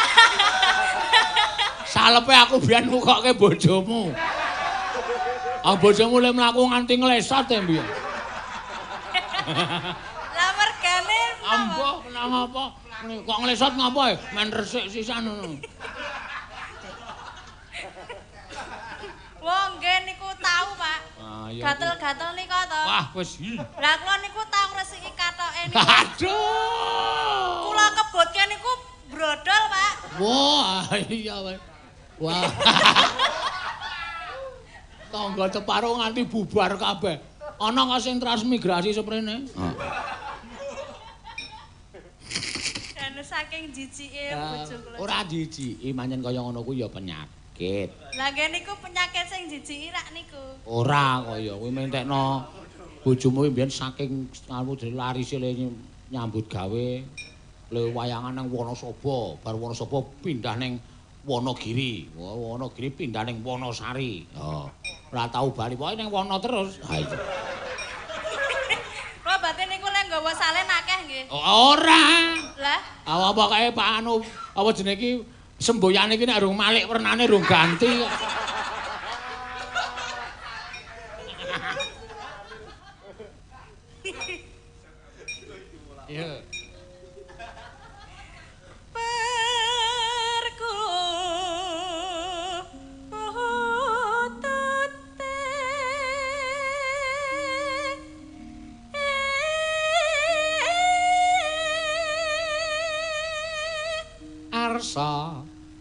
Salepe aku biyen ngukoke bojomu. Ah bojomu le mlaku nganti nglesot e mbiyen. Lah mergane Ambo kenang apa? Kok nglesot ngapa e? Men resik sisan ngono. Wong nggih niku tahu, Pak. Ah iya. Gatel-gatel nika to. Wah wis. Lah kula niku tau ngresiki katoke niku. Aduh. Kula kebotke niku brodol, Pak. Wah, iya weh. Wah. Tangga Ceparo nganti bubar kabeh. Ana kok sing transmigrasi seprene. Heeh. Dan saking jijike bojo kula. Ora jijiki, manyen kaya ngono kuwi ya penyakit. Lah nggih niku penyakit sing jijiki rak niku. Ora kaya kuwi mentekno bojomu mbiyen saking anu larise le nyambut gawe le wayangan nang Wonosobo, bar Wonosobo pindah ning Wonogiri. Wonogiri pindah ning Wonosari. Ora tau bali, pokoke ning Wono terus. Ha iya. Kula batin niku gawa salen akeh nggih. Ora. Lah, Apa kae Pak anu apa jenenge iki semboyane iki nek urung malik wernane urung ganti. Iya. Arsa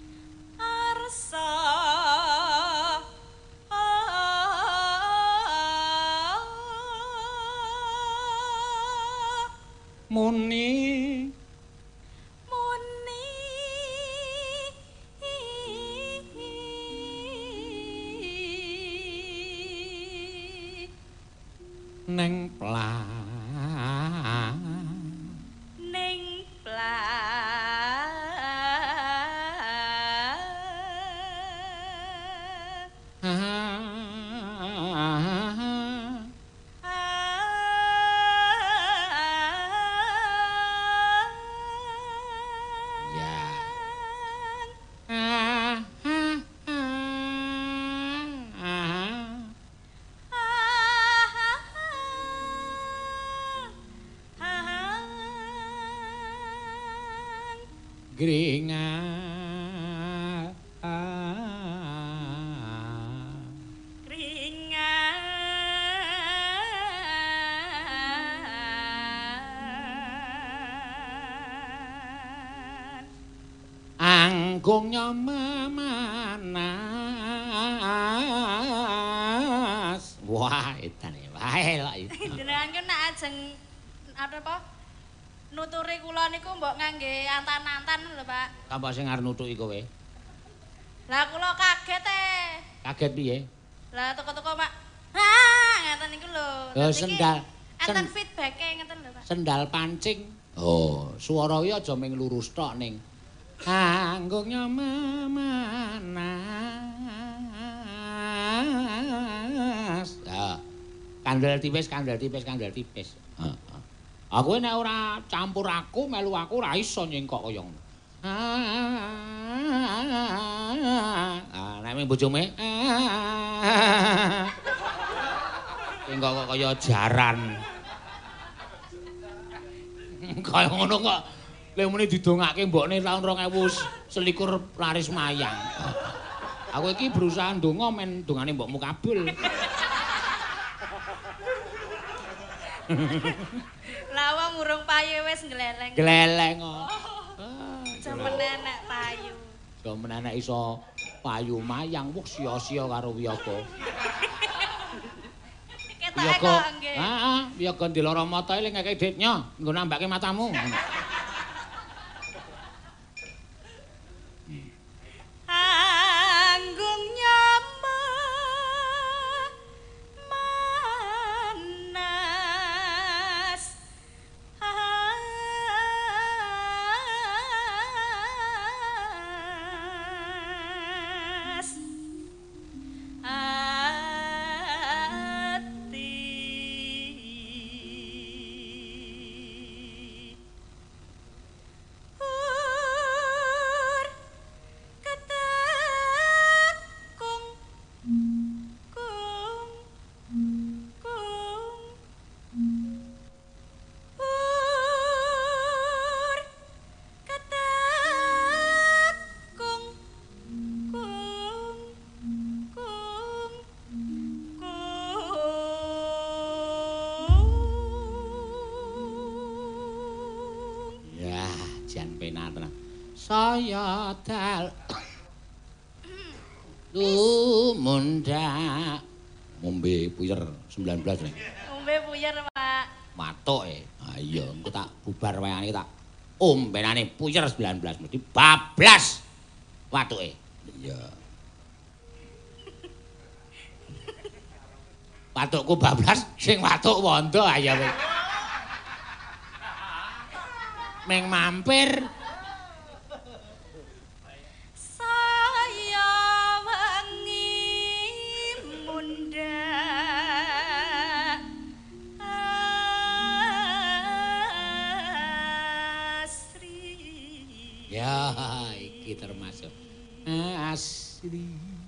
muni neng Gringa anggung nyamanas wah etane wae lho jenengan ku nek ajeng apa nuturi kula niku mbok ngangge antan-antan lho, Pak. Apa sing arep nutuki kowe? Lah kula kaget Kaget piye? Lah teko-teko, Pak. Ngeten niku lho. Sendal. Enten feedback-e ngeten lho, Pak. Sendal pancing. Oh, swara iki aja ming lurus tok ning. Anggung nyamanas. Kandel tipis. Heeh. Aku nek ora campur aku melu aku ora iso nyengkok kaya ngono. Nek ming bojone nyengkok kok kaya jaran. Kaya ngono kok lek muni didongake mbokne taun 2021 laris mayang. Aku iki berusaha ndonga men dongane mbokmu kabul. Lah wong urung payu wis gleleng. Gleleng kok. Jaman enek payu. Jaman enek iso payu mayang wah sia-sia karo wiyaga. Ketoke kok nggih. Heeh, wiyaga ndilara mata eling ngekek ditnya, nggo nambake matamu. Anggung saya dal Lumunda ngombe puyer 19 nih. Ngombe puyer, Pak. Matuk ah iya engko tak bubar wayane tak ombenane puyer 19 mesti bablas watuke. Iya. Watukku bablas sing watuk wondo ayo kowe. Meng mampir Asri.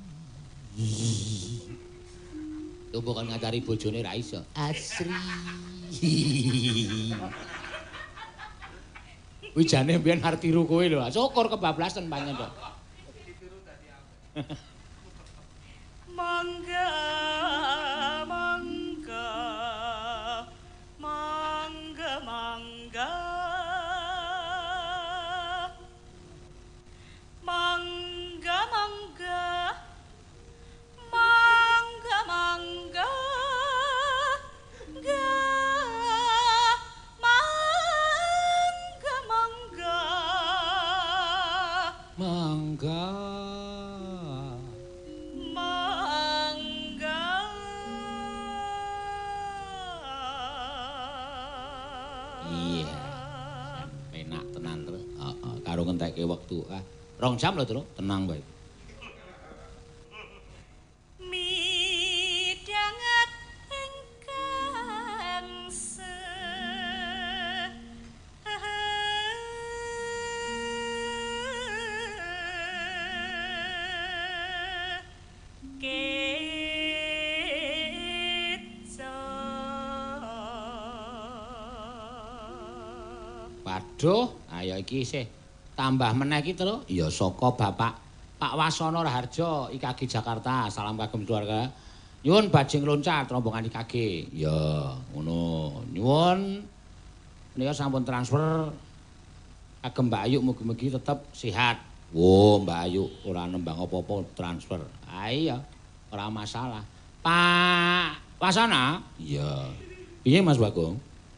Coba kan ngacari bojone ra iso. Asri. Kuwi jane mbiyen arep tiru kowe lho. Syukur kebablasan panjen to. Mangga mangga mangga mangga mangga mangga mangga mangga ga mangga mangga Mangga. mangga Iya. Penak tenan, Tru. Heeh, karo ngentekke wektu. 2 jam lho, Tru. Tenang bae. midanget ingkang Waduh, ayo iki isih tambah meneh iki, Tru. Ya saka Bapak Pak Wasono Raharjo IKG Jakarta. Salam kagem keluarga. Nyuwun bajing loncat rombongan IKG. Ya, ngono. Nyuwun menika sampun transfer kagem Mbak Ayu mugi-mugi tetep sehat. Wo, Mbak Ayu ora nembang apa-apa transfer. Ah iya, ora masalah. Pak Wasono? Iya. Piye Mas Bagong?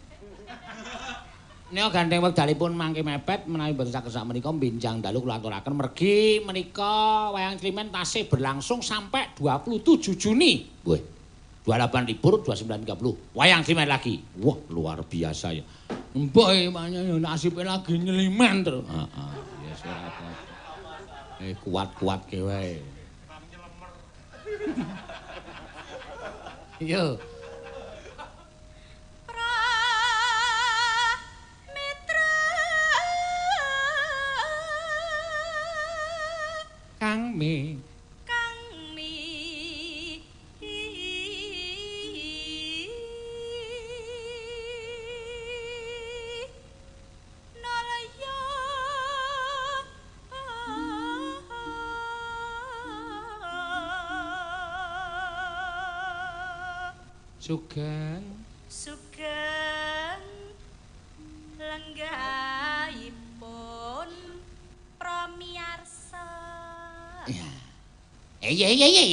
Nek gandeng wekdalipun mangke mepet menawi boten saged sakmenika bincang dalu kula aturaken mergi menika wayang Klimen tasih berlangsung sampai 27 Juni. Weh. 28 libur 29.30. Wayang Klimen lagi. Wah, luar biasa ya. Mbok emangnya ya nasibe lagi nyelimen terus. Heeh. Ya ora apa-apa. Kuat-kuat ke wae. Yo. Kang Mi nalaya Sugeng sugeng lenggahipun pramiyarsa. Iya.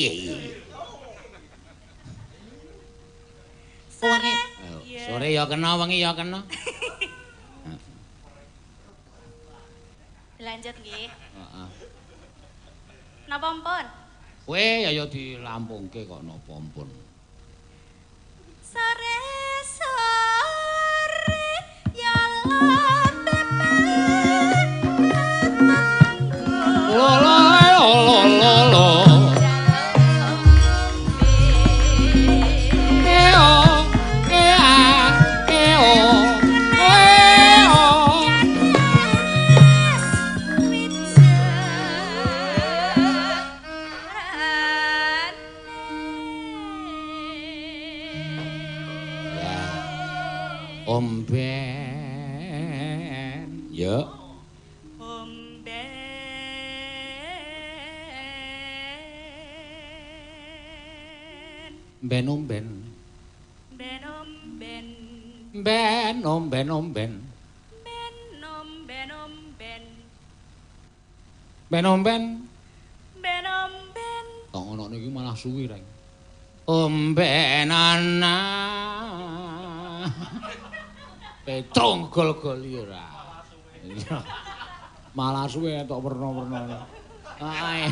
Sore. Sore ya kena, wengi ya kena. Lanjut nggih. Heeh. Napa mpun? Kowe ya dilampungke kok napa ampun. Sore sore ya lambe Omben. Ya. Ben omben. Ben omben. Ben omben omben. Ben omben omben. Ben omben. Ben omben. Kok ngono niki malah suwi reng. Ombenana. Petrong gol-gol ora. Malah suwe tok werna-werna. Ae.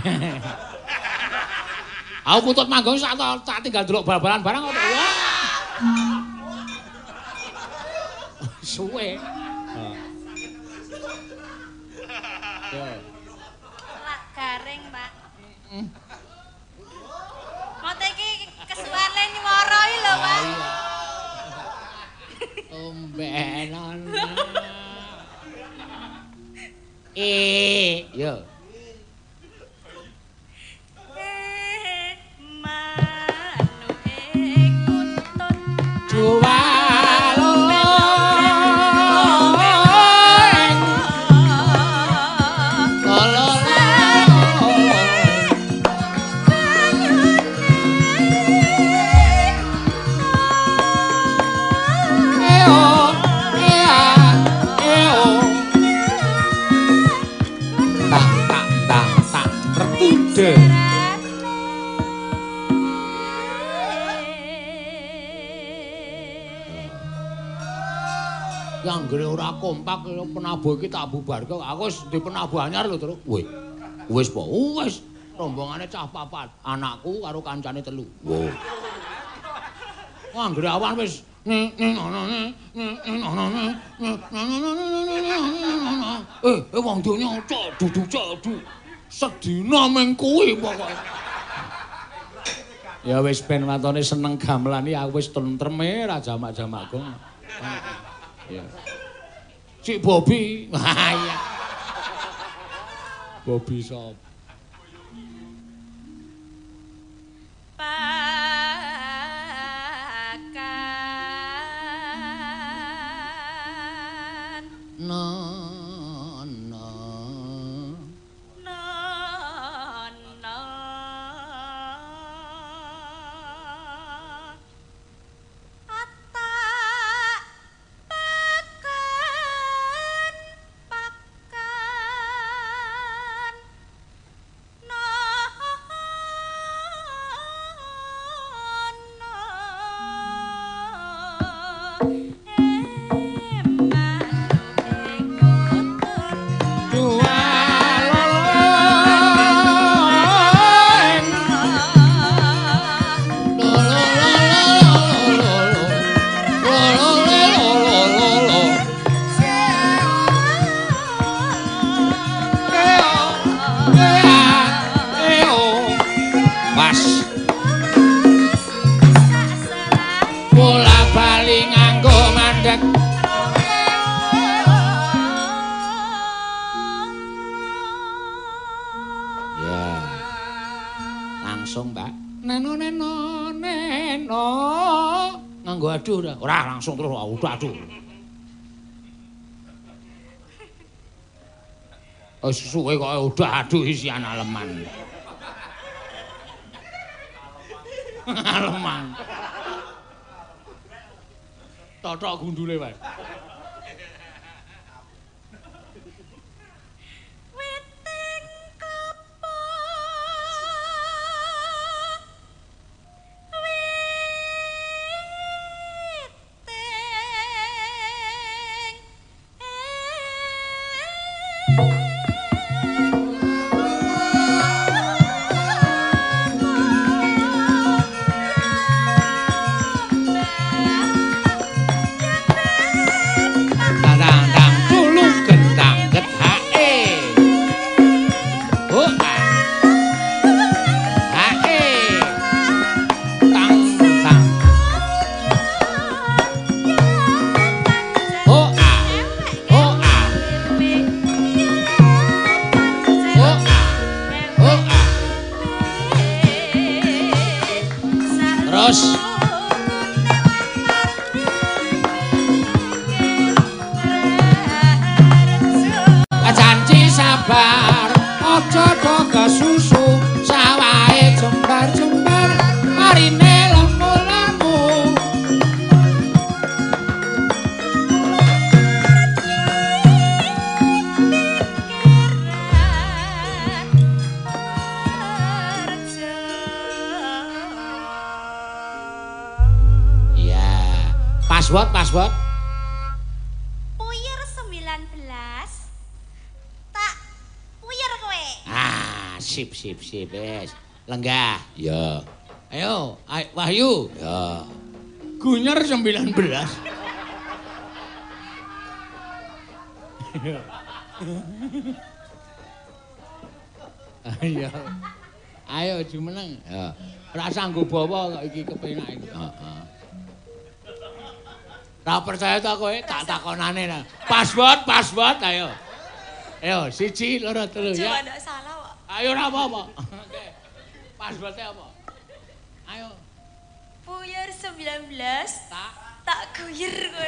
Aku putut manggung sak tinggal delok bal-balan barang kok. Wah. Suwe. Yo. Lak garing, Pak. Mote iki kesuwane nyuwara iki lho, Pak. Ombenan. Yo. Yang gede ora kompak penabuh iki tak bubarke. Aku wis di penabuh anyar lho, Tru. Wis po. Wis. Rombongane cah papat. Anakku karo kancane 3. Wo. Wah, gede awan wis wong donya cadu. Sedina ming kuwi pokoke. Ya wis ben watone seneng gamelan iki aku wis tentreme ra jamak-jamak gong. Ya. Cik Bobi. Wah iya. Bobi sop. Pakan. Ora langsung terus aduh. Wis suwe kok udah aduh isi anak leman. Leman. Totok gundule wae. Password. Puyer 19. Tak puyer kowe. Ah, sip wis. Lenggah. Ya. Ayo, Wahyu. Ya. Gunyer 19. Ayo jumeneng. Ya. Ora sanggo bawa kok iki kepenak iki. Heeh. Ra percaya ta kowe tak takonane nah. Password ayo. Ayo 1 2 3 ya. Coba ndak salah kok. Ayo ora apa-apa. Oke. Passwordnya apa? Ayo. Puyer 19. Tak guyer kowe.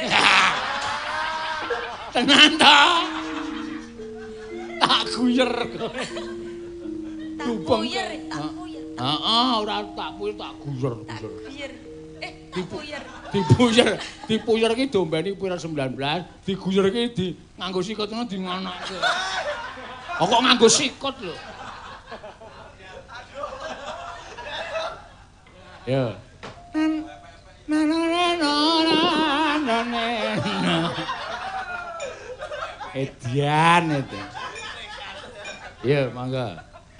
Tenan ta? Tak guyer kowe. Tak puyer. Heeh, ora tak puyer tak guyer. Tak guyer. Dipuyer iki dombeni puyer 19, diguyer iki di nganggo sikut ngono di nganake. Kok nganggo sikut lho. Ya. Edian itu. Iya, mangga.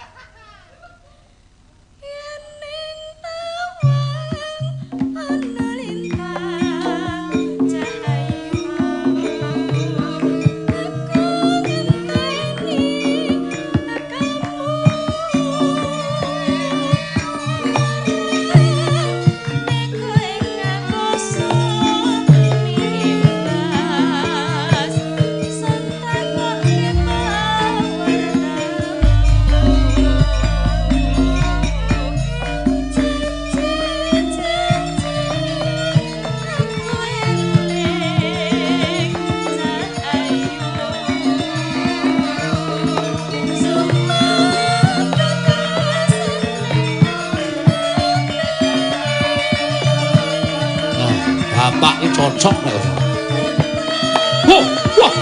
Bapak ini cocok nek. Wah, wah.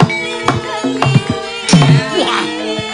Wah.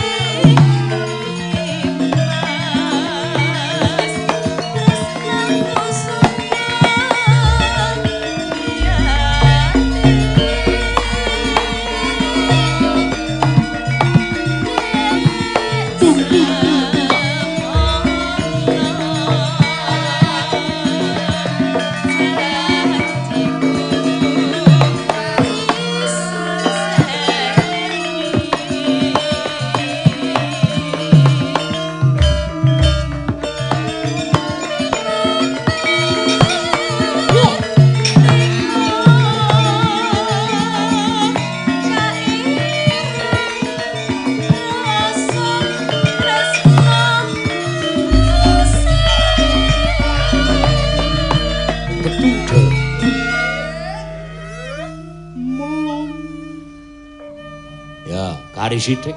Kari sithik.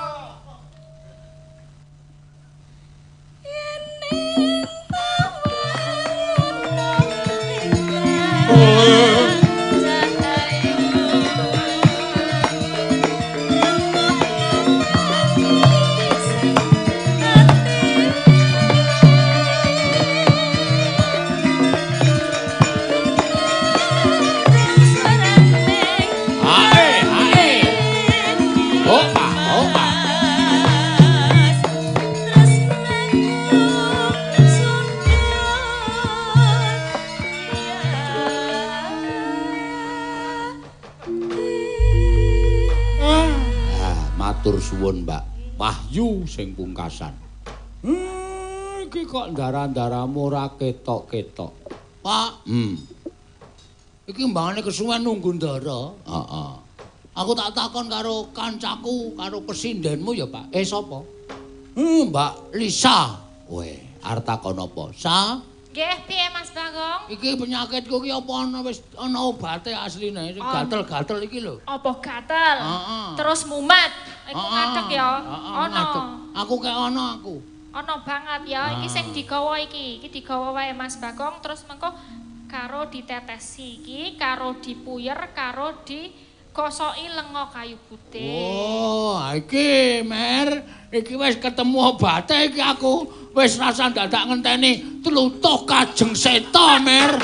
Matur suwun, Mbak. Wahyu sing pungkasan. Iki kok ndara-ndaramu ora ketok-ketok. Pak. Iki mbangane kesuwen nunggu ndara. Heeh. Aku tak takon karo kancaku, karo pesindenmu ya, Pak. Sapa? Mbak Lisa. Weh, arep takon apa? Sa? Nggih, piye Mas Bagong? Iki penyakitku ki apa ana wis ana obate asline, gatel-gatel iki lho. Apa gatel? Terus mumet. Iku ngadeg ya. Ana. Aku kek ana aku. Ana banget ya. Iki sing digawa iki. Iki digawa wae Mas Bagong terus mengko karo ditetesi iki, karo dipuyer, karo digosoki lenga kayu putih. Oh, iki Mer, iki wis ketemu obate iki aku. Wis rasa dadak ngenteni tlutuh Kajeng Seta, Mer.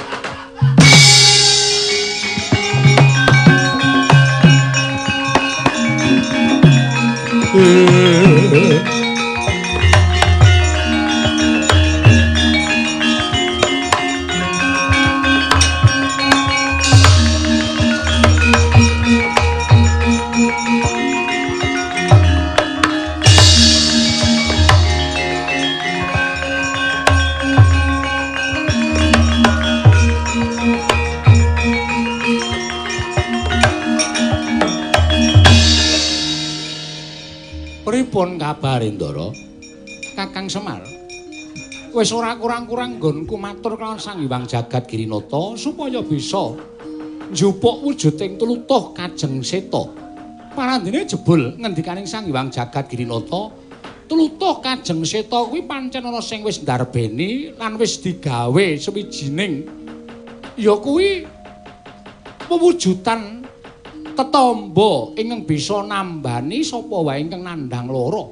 Pripun kabar Ndara? Kakang Semar. Wis ora kurang-kurang nggonku matur kelawan Sang Hyang Jagat Girinata supaya bisa njupuk wujuding tlutuh Kajeng Seta. Parandene jebul ngendikaning Sang Hyang Jagat Girinata, tlutuh Kajeng Seta kuwi pancen ana sing wis ndarbeni lan wis digawe sewijining ya kuwi pewujudan tetamba ingkang bisa nambani sapa wae ingkang nandhang lara.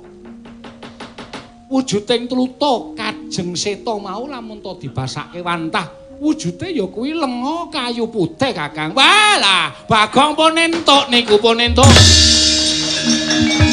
Wujuding tlutuh Kajeng Seta mau lamun to dibasake wantah Wujude ya kuwi lenga kayu putih Kakang. Walah, Bagong pun entuk niku pun entuk.